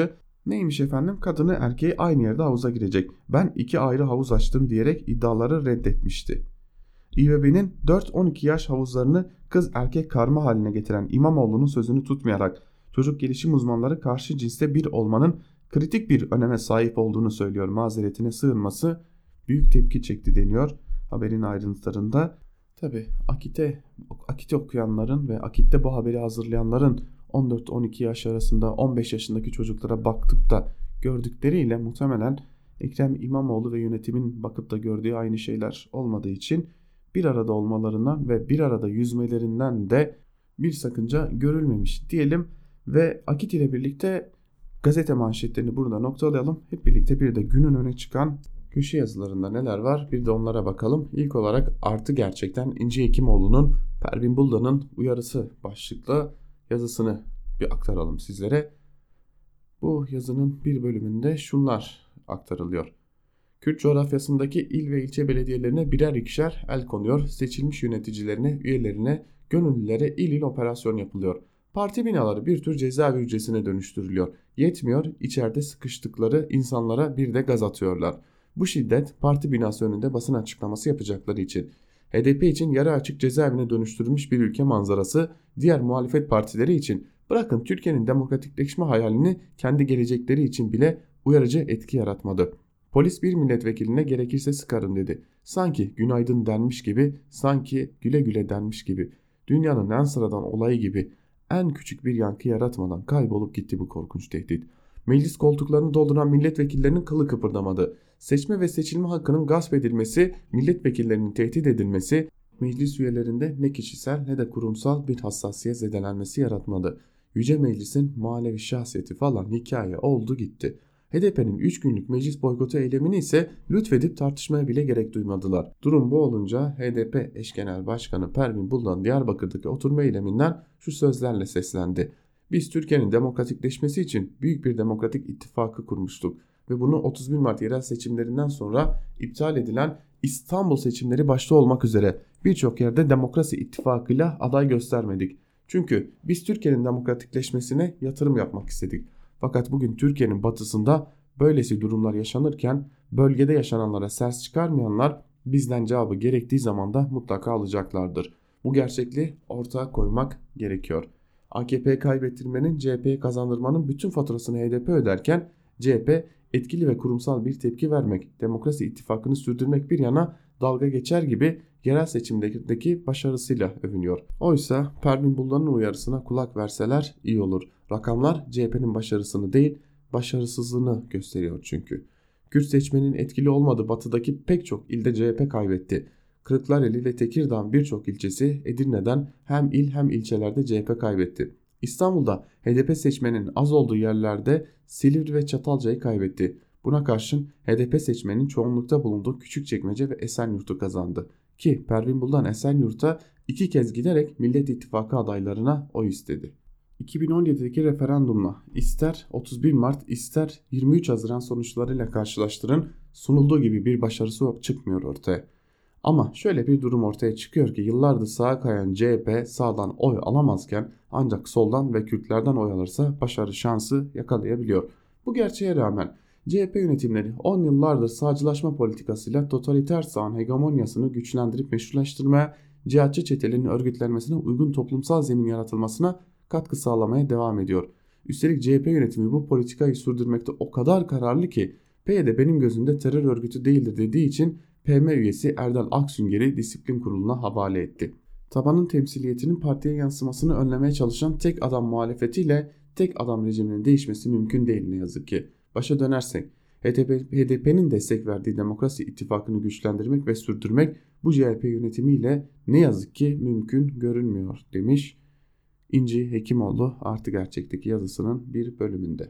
Neymiş efendim? Kadını erkeği aynı yerde havuza girecek. Ben 2 ayrı havuz açtım diyerek iddiaları reddetmişti. İBB'nin 4-12 yaş havuzlarını kız erkek karma haline getiren İmamoğlu'nun sözünü tutmayarak çocuk gelişim uzmanları karşı cinste bir olmanın kritik bir öneme sahip olduğunu söylüyor. Mazeretine sığınması büyük tepki çekti deniyor haberin ayrıntılarında. Tabi Akit'te okuyanların ve Akit'te bu haberi hazırlayanların 14-12 yaş arasında 15 yaşındaki çocuklara baktıp da gördükleriyle muhtemelen Ekrem İmamoğlu ve yönetimin bakıp da gördüğü aynı şeyler olmadığı için bir arada olmalarından ve bir arada yüzmelerinden de bir sakınca görülmemiş diyelim ve Akit ile birlikte gazete manşetlerini burada noktalayalım. Hep birlikte bir de günün öne çıkan köşe yazılarında neler var bir de onlara bakalım. İlk olarak artı gerçekten İnci Hekimoğlu'nun Pervin Buldan'ın uyarısı başlıklı yazısını bir aktaralım sizlere. Bu yazının bir bölümünde şunlar aktarılıyor. Kürt coğrafyasındaki il ve ilçe belediyelerine birer ikişer el konuyor. Seçilmiş yöneticilerine, üyelerine, gönüllülere il il operasyon yapılıyor. Parti binaları bir tür cezaevi hücresine dönüştürülüyor. Yetmiyor, içeride sıkıştıkları insanlara bir de gaz atıyorlar. Bu şiddet parti binası önünde basın açıklaması yapacakları için. HDP için yarı açık cezaevine dönüştürülmüş bir ülke manzarası, diğer muhalefet partileri için bırakın Türkiye'nin demokratikleşme hayalini kendi gelecekleri için bile uyarıcı etki yaratmadı. Polis bir milletvekiline gerekirse sıkarım dedi. Sanki günaydın denmiş gibi, sanki güle güle denmiş gibi. Dünyanın en sıradan olayı gibi en küçük bir yankı yaratmadan kaybolup gitti bu korkunç tehdit. Meclis koltuklarını dolduran milletvekillerinin kılı kıpırdamadı. Seçme ve seçilme hakkının gasp edilmesi, milletvekillerinin tehdit edilmesi, meclis üyelerinde ne kişisel ne de kurumsal bir hassasiyet zedelenmesi yaratmadı. Yüce Meclis'in manevi şahsiyeti falan hikaye oldu gitti. HDP'nin 3 günlük meclis boykotu eylemini ise lütfedip tartışmaya bile gerek duymadılar. Durum bu olunca HDP eş genel başkanı Pervin Buldan Diyarbakır'daki oturma eyleminden şu sözlerle seslendi. Biz Türkiye'nin demokratikleşmesi için büyük bir demokratik ittifakı kurmuştuk ve bunu 31 Mart yerel seçimlerinden sonra iptal edilen İstanbul seçimleri başta olmak üzere birçok yerde demokrasi ittifakıyla aday göstermedik. Çünkü biz Türkiye'nin demokratikleşmesine yatırım yapmak istedik. Fakat bugün Türkiye'nin batısında böylesi durumlar yaşanırken bölgede yaşananlara ses çıkarmayanlar bizden cevabı gerektiği zaman da mutlaka alacaklardır. Bu gerçekliği ortaya koymak gerekiyor. AKP'yi kaybettirmenin, CHP'ye kazandırmanın bütün faturasını HDP öderken CHP etkili ve kurumsal bir tepki vermek, demokrasi ittifakını sürdürmek bir yana dalga geçer gibi yerel seçimdeki başarısıyla övünüyor. Oysa Pervin Buldan'ın uyarısına kulak verseler iyi olur. Rakamlar CHP'nin başarısını değil, başarısızlığını gösteriyor çünkü. Kürt seçmenin etkili olmadığı batıdaki pek çok ilde CHP kaybetti. Kırklareli ve Tekirdağ'ın birçok ilçesi Edirne'den hem il hem ilçelerde CHP kaybetti. İstanbul'da HDP seçmenin az olduğu yerlerde Silivri ve Çatalca'yı kaybetti. Buna karşın HDP seçmenin çoğunlukta bulunduğu Küçükçekmece ve Esenyurt'u kazandı. Ki Pervin Buldan Esenyurt'a 2 kez giderek Millet İttifakı adaylarına oy istedi. 2017'deki referandumla ister 31 Mart ister 23 Haziran sonuçlarıyla karşılaştırın sunulduğu gibi bir başarısı çıkmıyor ortaya. Ama şöyle bir durum ortaya çıkıyor ki yıllardır sağa kayan CHP sağdan oy alamazken ancak soldan ve Kürtlerden oy alırsa başarı şansı yakalayabiliyor. Bu gerçeğe rağmen CHP yönetimleri 10 yıllardır sağcılaşma politikasıyla totaliter sağın hegemonyasını güçlendirip meşrulaştırmaya, cihatçı çetelerin örgütlenmesine uygun toplumsal zemin yaratılmasına katkı sağlamaya devam ediyor. Üstelik CHP yönetimi bu politikayı sürdürmekte o kadar kararlı ki PYD benim gözümde terör örgütü değildir dediği için PM üyesi Erdal Aksünger'i disiplin kuruluna havale etti. Tabanın temsiliyetinin partiye yansımasını önlemeye çalışan tek adam muhalefetiyle tek adam rejiminin değişmesi mümkün değil ne yazık ki. Başa dönersek HDP'nin destek verdiği demokrasi ittifakını güçlendirmek ve sürdürmek bu CHP yönetimiyle ne yazık ki mümkün görünmüyor demiş İnci Hekimoğlu Artı Gerçek'teki yazısının bir bölümünde.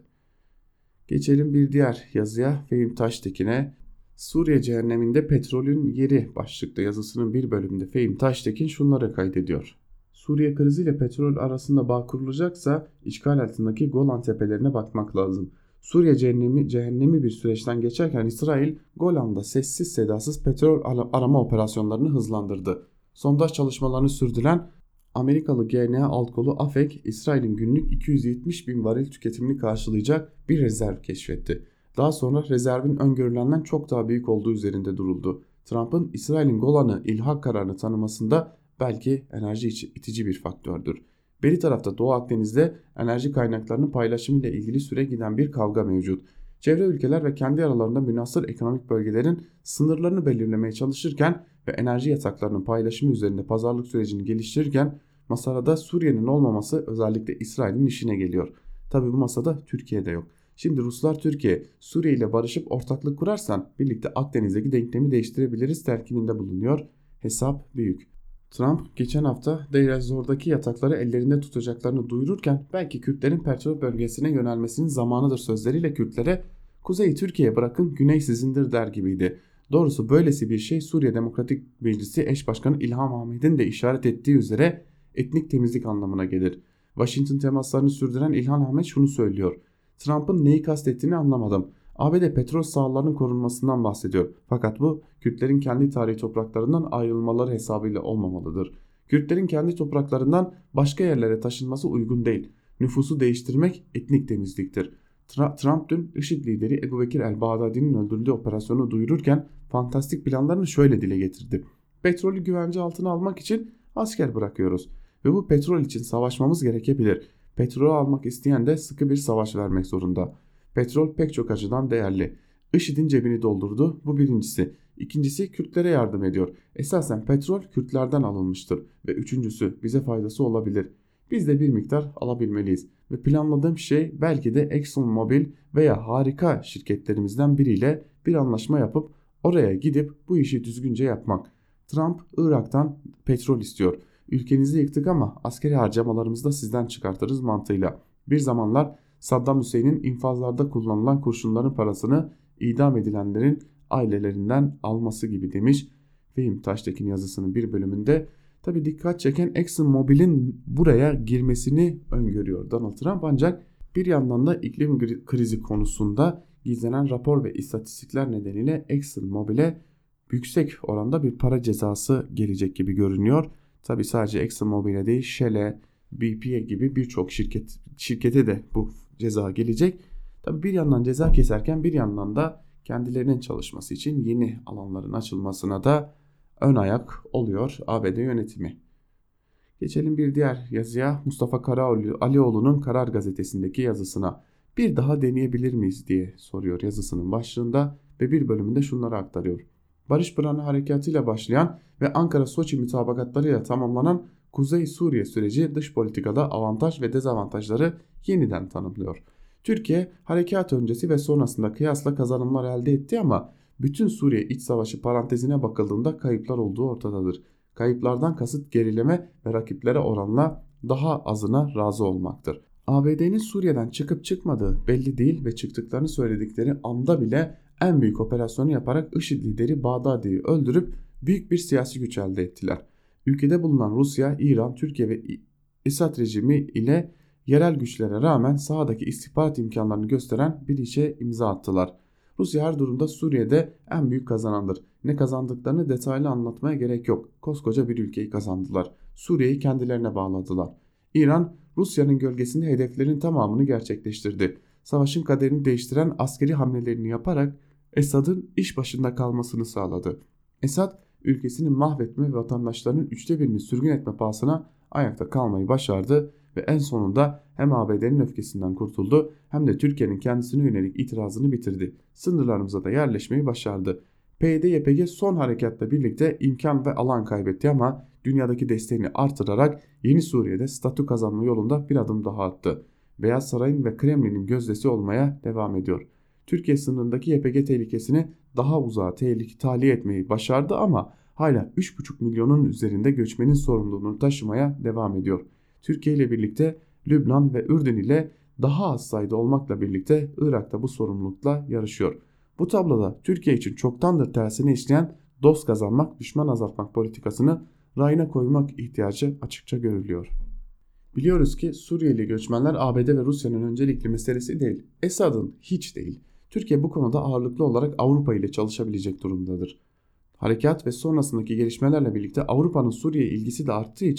Geçelim bir diğer yazıya. Fehim Taştekin'e Suriye cehenneminde petrolün yeri başlıklı yazısının bir bölümünde Fehim Taştekin şunları kaydediyor. Suriye kriziyle petrol arasında bağ kurulacaksa işgal altındaki Golan tepelerine bakmak lazım. Suriye cehennemi bir süreçten geçerken İsrail Golan'da sessiz sedasız petrol arama operasyonlarını hızlandırdı. Sondaj çalışmalarını sürdüren Amerikalı GNA alt kolu AFEK, İsrail'in günlük 270 bin varil tüketimini karşılayacak bir rezerv keşfetti. Daha sonra rezervin öngörülenden çok daha büyük olduğu üzerinde duruldu. Trump'ın İsrail'in Golan'ı ilhak kararını tanımasında belki enerji itici bir faktördür. Beri tarafta Doğu Akdeniz'de enerji kaynaklarının paylaşımıyla ilgili süre giden bir kavga mevcut. Çevre ülkeler ve kendi aralarında münhasır ekonomik bölgelerin sınırlarını belirlemeye çalışırken ve enerji yataklarının paylaşımı üzerinde pazarlık sürecini geliştirirken masada Suriye'nin olmaması özellikle İsrail'in işine geliyor. Tabi bu masada Türkiye'de yok. Şimdi Ruslar Türkiye, Suriye ile barışıp ortaklık kurarsan birlikte Akdeniz'deki denklemi değiştirebiliriz telkininde bulunuyor. Hesap büyük. Trump geçen hafta Deir ez-Zor'daki yatakları ellerinde tutacaklarını duyururken belki Kürtlerin petrol bölgesine yönelmesinin zamanıdır sözleriyle Kürtlere "Kuzeyi Türkiye'ye bırakın, güney sizindir" der gibiydi. Doğrusu böylesi bir şey Suriye Demokratik Meclisi eş başkanı İlham Ahmet'in de işaret ettiği üzere etnik temizlik anlamına gelir. Washington temaslarını sürdüren İlhan Ahmet şunu söylüyor: Trump'ın neyi kastettiğini anlamadım. ABD petrol sahalarının korunmasından bahsediyor. Fakat bu Kürtlerin kendi tarihi topraklarından ayrılmaları hesabıyla olmamalıdır. Kürtlerin kendi topraklarından başka yerlere taşınması uygun değil. Nüfusu değiştirmek etnik temizliktir. Trump dün IŞİD lideri Ebu Bekir el-Bağdadi'nin öldürüldüğü operasyonu duyururken fantastik planlarını şöyle dile getirdi. Petrolü güvence altına almak için asker bırakıyoruz ve bu petrol için savaşmamız gerekebilir. Petrolü almak isteyen de sıkı bir savaş vermek zorunda. Petrol pek çok açıdan değerli. IŞİD'in cebini doldurdu, bu birincisi. İkincisi Kürtlere yardım ediyor. Esasen petrol Kürtlerden alınmıştır. Ve üçüncüsü bize faydası olabilir. Biz de bir miktar alabilmeliyiz. Ve planladığım şey belki de ExxonMobil veya harika şirketlerimizden biriyle bir anlaşma yapıp oraya gidip bu işi düzgünce yapmak. Trump Irak'tan petrol istiyor. Ülkenizi yıktık ama askeri harcamalarımızı da sizden çıkartırız mantığıyla. Bir zamanlar Saddam Hüseyin'in infazlarda kullanılan kurşunların parasını idam edilenlerin ailelerinden alması gibi demiş. Fehim Taştekin yazısının bir bölümünde tabi dikkat çeken ExxonMobil'in buraya girmesini öngörüyor Donald Trump, ancak bir yandan da iklim krizi konusunda gizlenen rapor ve istatistikler nedeniyle ExxonMobil'e yüksek oranda bir para cezası gelecek gibi görünüyor. Tabi sadece ExxonMobil'e değil, Shell'e, BP'ye gibi birçok şirkete de bu ceza gelecek. Tabi bir yandan ceza keserken bir yandan da kendilerinin çalışması için yeni alanların açılmasına da ön ayak oluyor ABD yönetimi. Geçelim bir diğer yazıya, Mustafa Alioğlu'nun Karar Gazetesi'ndeki yazısına. Bir daha deneyebilir miyiz diye soruyor yazısının başlığında ve bir bölümünde şunları aktarıyor. Barış Pınarı Harekatı'yla başlayan ve Ankara-Soçi mütabakatlarıyla tamamlanan Kuzey Suriye süreci dış politikada avantaj ve dezavantajları yeniden tanımlıyor. Türkiye harekat öncesi ve sonrasında kıyasla kazanımlar elde etti ama bütün Suriye iç savaşı parantezine bakıldığında kayıplar olduğu ortadadır. Kayıplardan kasıt gerileme ve rakiplere oranla daha azına razı olmaktır. ABD'nin Suriye'den çıkıp çıkmadığı belli değil ve çıktıklarını söyledikleri anda bile en büyük operasyonu yaparak IŞİD lideri Bağdadi'yi öldürüp büyük bir siyasi güç elde ettiler. Ülkede bulunan Rusya, İran, Türkiye ve Esad rejimi ile yerel güçlere rağmen sahadaki istihbarat imkanlarını gösteren bir işe imza attılar. Rusya her durumda Suriye'de en büyük kazanandır. Ne kazandıklarını detaylı anlatmaya gerek yok. Koskoca bir ülkeyi kazandılar. Suriye'yi kendilerine bağladılar. İran, Rusya'nın gölgesinde hedeflerin tamamını gerçekleştirdi. Savaşın kaderini değiştiren askeri hamlelerini yaparak Esad'ın iş başında kalmasını sağladı. Esad, ülkesini mahvetme ve vatandaşlarının 1/3'ünü sürgün etme pahasına ayakta kalmayı başardı ve en sonunda hem ABD'nin öfkesinden kurtuldu hem de Türkiye'nin kendisine yönelik itirazını bitirdi. Sınırlarımıza da yerleşmeyi başardı. PYD-YPG son harekatla birlikte imkan ve alan kaybetti ama dünyadaki desteğini artırarak yeni Suriye'de statü kazanma yolunda bir adım daha attı. Beyaz Saray'ın ve Kremlin'in gözdesi olmaya devam ediyor. Türkiye sınırındaki YPG tehlikesini daha uzağa tahliye etmeyi başardı ama hala 3,5 milyonun üzerinde göçmenin sorumluluğunu taşımaya devam ediyor. Türkiye ile birlikte Lübnan ve Ürdün ile daha az sayıda olmakla birlikte Irak'ta bu sorumlulukla yarışıyor. Bu tabloda Türkiye için çoktandır tersine işleyen dost kazanmak, düşman azaltmak politikasını rayına koymak ihtiyacı açıkça görülüyor. Biliyoruz ki Suriyeli göçmenler ABD ve Rusya'nın öncelikli meselesi değil, Esad'ın hiç değil. Türkiye bu konuda ağırlıklı olarak Avrupa ile çalışabilecek durumdadır. Harekat ve sonrasındaki gelişmelerle birlikte Avrupa'nın Suriye ilgisi de arttığı için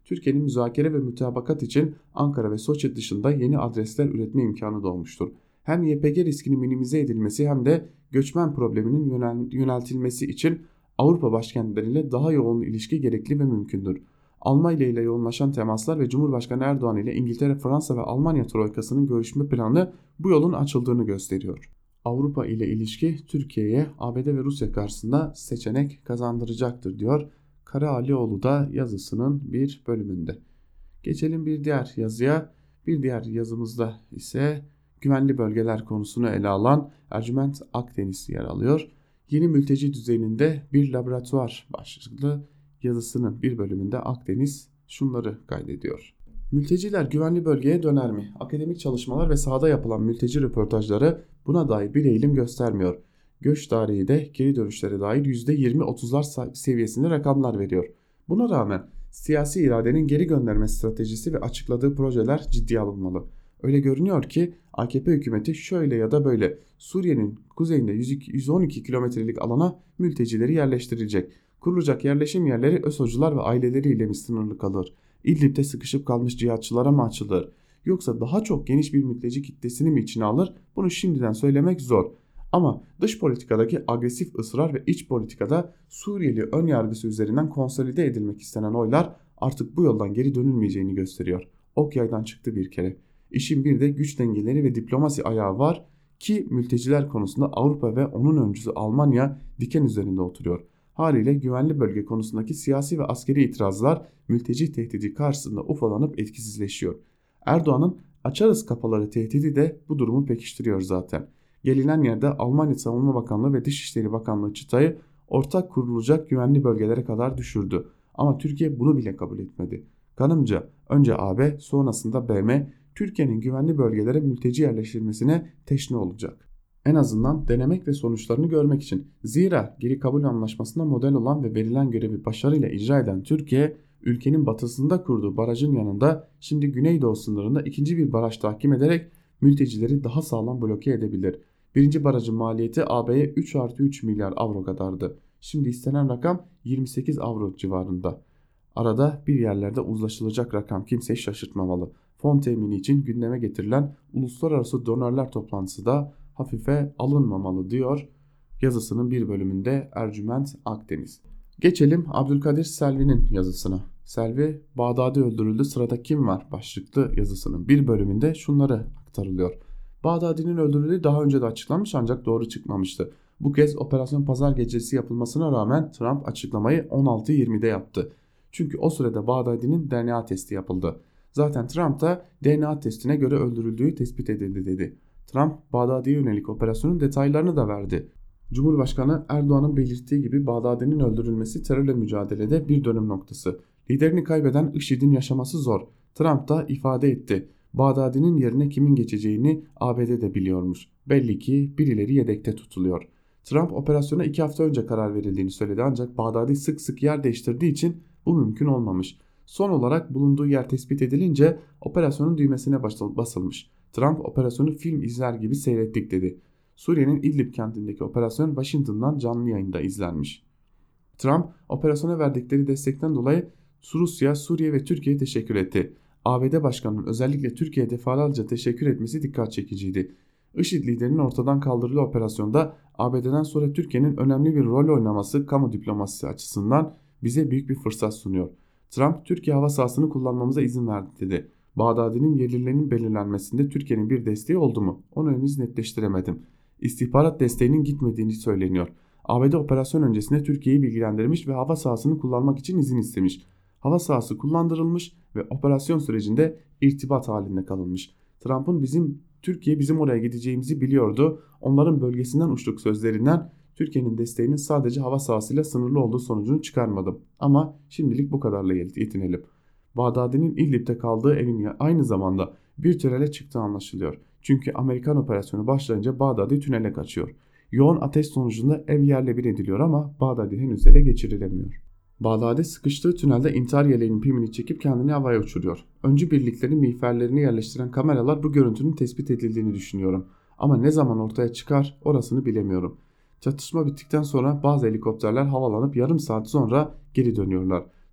Türkiye'nin müzakere ve mütabakat için Ankara ve Soçi dışında yeni adresler üretme imkanı doğmuştur. Hem YPG riskinin minimize edilmesi hem de göçmen probleminin yöneltilmesi için Avrupa başkentleriyle daha yoğun ilişki gerekli ve mümkündür. Almanya ile yoğunlaşan temaslar ve Cumhurbaşkanı Erdoğan ile İngiltere, Fransa ve Almanya troikasının görüşme planı bu yolun açıldığını gösteriyor. Avrupa ile ilişki Türkiye'ye ABD ve Rusya karşısında seçenek kazandıracaktır diyor Kara Alioğlu da yazısının bir bölümünde. Geçelim bir diğer yazıya. Bir diğer yazımızda ise güvenli bölgeler konusunu ele alan Ercüment Akdeniz yer alıyor. Yeni mülteci düzeninde bir laboratuvar başlıklı yazısının bir bölümünde Akdeniz şunları kaydediyor. Mülteciler güvenli bölgeye döner mi? Akademik çalışmalar ve sahada yapılan mülteci röportajları buna dair bir eğilim göstermiyor. Göç tarihi de geri dönüşlere dair %20-30'lar seviyesinde rakamlar veriyor. Buna rağmen siyasi iradenin geri gönderme stratejisi ve açıkladığı projeler ciddiye alınmalı. Öyle görünüyor ki AKP hükümeti şöyle ya da böyle Suriye'nin kuzeyinde 112 kilometrelik alana mültecileri yerleştirecek. Kurulacak yerleşim yerleri ÖSO'cular ve aileleriyle mi sınırlı kalır? İdlib'de sıkışıp kalmış cihatçılara mı açılır? Yoksa daha çok geniş bir mülteci kitlesini mi içine alır? Bunu şimdiden söylemek zor. Ama dış politikadaki agresif ısrar ve iç politikada Suriyeli ön yargısı üzerinden konsolide edilmek istenen oylar artık bu yoldan geri dönülmeyeceğini gösteriyor. Ok yaydan çıktı bir kere. İşin bir de güç dengeleri ve diplomasi ayağı var ki mülteciler konusunda Avrupa ve onun öncüsü Almanya diken üzerinde oturuyor. Haliyle güvenli bölge konusundaki siyasi ve askeri itirazlar mülteci tehdidi karşısında ufalanıp etkisizleşiyor. Erdoğan'ın açarız kapıları tehdidi de bu durumu pekiştiriyor zaten. Gelinen yerde Almanya Savunma Bakanlığı ve Dışişleri Bakanlığı çıtayı ortak kurulacak güvenli bölgelere kadar düşürdü. Ama Türkiye bunu bile kabul etmedi. Kanımca önce AB sonrasında BM Türkiye'nin güvenli bölgelere mülteci yerleştirilmesine teşne olacak. En azından denemek ve sonuçlarını görmek için. Zira geri kabul anlaşmasında model olan ve verilen görevi başarıyla icra eden Türkiye, ülkenin batısında kurduğu barajın yanında şimdi Güneydoğu sınırında ikinci bir baraj tahkim ederek mültecileri daha sağlam bloke edebilir. Birinci barajın maliyeti AB'ye 3+3 milyar avro kadardı. Şimdi istenen rakam 28 avro civarında. Arada bir yerlerde uzlaşılacak rakam kimseyi şaşırtmamalı. Fon temini için gündeme getirilen uluslararası donörler toplantısı da hafife alınmamalı diyor yazısının bir bölümünde Ercüment Akdeniz. Geçelim Abdülkadir Selvi'nin yazısına. Selvi Bağdadi öldürüldü, sırada kim var başlıklı yazısının bir bölümünde şunları aktarılıyor. Bağdadi'nin öldürüldüğü daha önce de açıklanmış ancak doğru çıkmamıştı. Bu kez operasyon pazar gecesi yapılmasına rağmen Trump açıklamayı 16:20'de yaptı. Çünkü o sırada Bağdadi'nin DNA testi yapıldı. Zaten Trump da DNA testine göre öldürüldüğü tespit edildi dedi. Trump Bağdadi'ye yönelik operasyonun detaylarını da verdi. Cumhurbaşkanı Erdoğan'ın belirttiği gibi Bağdadi'nin öldürülmesi terörle mücadelede bir dönüm noktası. Liderini kaybeden IŞİD'in yaşaması zor. Trump da ifade etti. Bağdadi'nin yerine kimin geçeceğini ABD de biliyormuş. Belli ki birileri yedekte tutuluyor. Trump operasyona 2 hafta önce karar verildiğini söyledi ancak Bağdadi sık sık yer değiştirdiği için bu mümkün olmamış. Son olarak bulunduğu yer tespit edilince operasyonun düğmesine basılmış. Trump operasyonu film izler gibi seyrettik dedi. Suriye'nin İdlib kentindeki operasyon Washington'dan canlı yayında izlenmiş. Trump operasyona verdikleri destekten dolayı Rusya, Suriye ve Türkiye'ye teşekkür etti. ABD Başkanı'nın özellikle Türkiye'ye defalarca teşekkür etmesi dikkat çekiciydi. IŞİD liderinin ortadan kaldırıldığı operasyonda ABD'den sonra Türkiye'nin önemli bir rol oynaması kamu diplomasisi açısından bize büyük bir fırsat sunuyor. Trump, Türkiye hava sahasını kullanmamıza izin verdi dedi. Bağdadi'nin yerlilerinin belirlenmesinde Türkiye'nin bir desteği oldu mu? Onu henüz netleştiremedim. İstihbarat desteğinin gitmediğini söyleniyor. ABD operasyon öncesinde Türkiye'yi bilgilendirmiş ve hava sahasını kullanmak için izin istemiş. Hava sahası kullandırılmış ve operasyon sürecinde irtibat halinde kalınmış. Trump'ın Türkiye bizim oraya gideceğimizi biliyordu. Onların bölgesinden uçtuk sözlerinden Türkiye'nin desteğinin sadece hava sahasıyla sınırlı olduğu sonucunu çıkarmadım. Ama şimdilik bu kadarla yetinelim. Bağdadi'nin İdlib'de kaldığı evin aynı zamanda bir tünele çıktığı anlaşılıyor. Çünkü Amerikan operasyonu başlayınca Bağdadi tünele kaçıyor. Yoğun ateş sonucunda ev yerle bir ediliyor ama Bağdadi henüz ele geçirilemiyor. Bağdadi sıkıştığı tünelde intihar yeleğinin pimini çekip kendini havaya uçuruyor. Öncü birliklerin miğferlerini yerleştiren kameralar bu görüntünün tespit edildiğini düşünüyorum. Ama ne zaman ortaya çıkar orasını bilemiyorum. Çatışma bittikten sonra bazı helikopterler havalanıp yarım saat sonra geri dönüyorlar.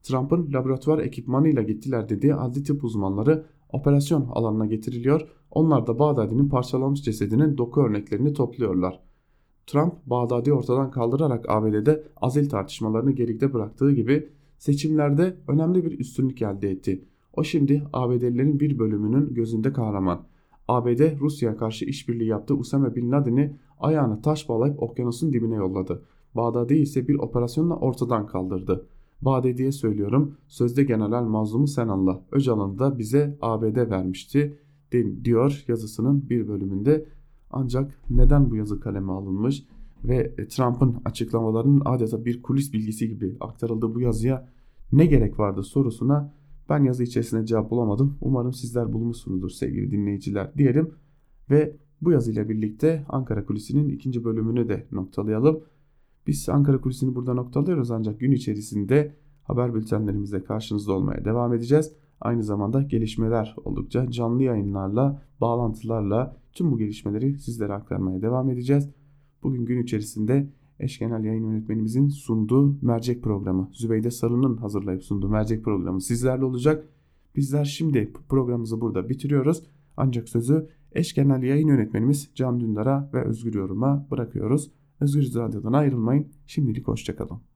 Trump'ın laboratuvar ekipmanıyla gittiler dediği adli tıp uzmanları operasyon alanına getiriliyor. Onlar da Bağdadi'nin parçalanmış cesedinin doku örneklerini topluyorlar. Trump, Bağdadi'yi ortadan kaldırarak ABD'de azil tartışmalarını geride bıraktığı gibi seçimlerde önemli bir üstünlük elde etti. O şimdi ABD'lilerin bir bölümünün gözünde kahraman. ABD Rusya'ya karşı işbirliği yaptığı Usame Bin Laden'i ayağına taş bağlayıp okyanusun dibine yolladı. Bağdadi ise bir operasyonla ortadan kaldırdı. Bağdadi'ye söylüyorum, sözde general mazlumu sen anla. Öcalan'ı da bize ABD vermişti diyor yazısının bir bölümünde. Ancak neden bu yazı kaleme alınmış ve Trump'ın açıklamalarının adeta bir kulis bilgisi gibi aktarıldığı bu yazıya ne gerek vardı sorusuna ben yazı içerisinde cevap bulamadım. Umarım sizler bulmuşsunuzdur sevgili dinleyiciler diyelim ve bu yazıyla birlikte Ankara Kulisi'nin ikinci bölümünü de noktalayalım. Biz Ankara Kulisi'ni burada noktalıyoruz ancak gün içerisinde haber bültenlerimizle karşınızda olmaya devam edeceğiz. Aynı zamanda gelişmeler oldukça canlı yayınlarla, bağlantılarla tüm bu gelişmeleri sizlere aktarmaya devam edeceğiz. Bugün gün içerisinde eş genel yayın yönetmenimizin sunduğu mercek programı, Zübeyde Sarı'nın hazırlayıp sunduğu mercek programı sizlerle olacak. Bizler şimdi programımızı burada bitiriyoruz. Ancak sözü eş genel yayın yönetmenimiz Can Dündar'a ve Özgür Yorum'a bırakıyoruz. Özgür Radyo'dan ayrılmayın. Şimdilik hoşçakalın.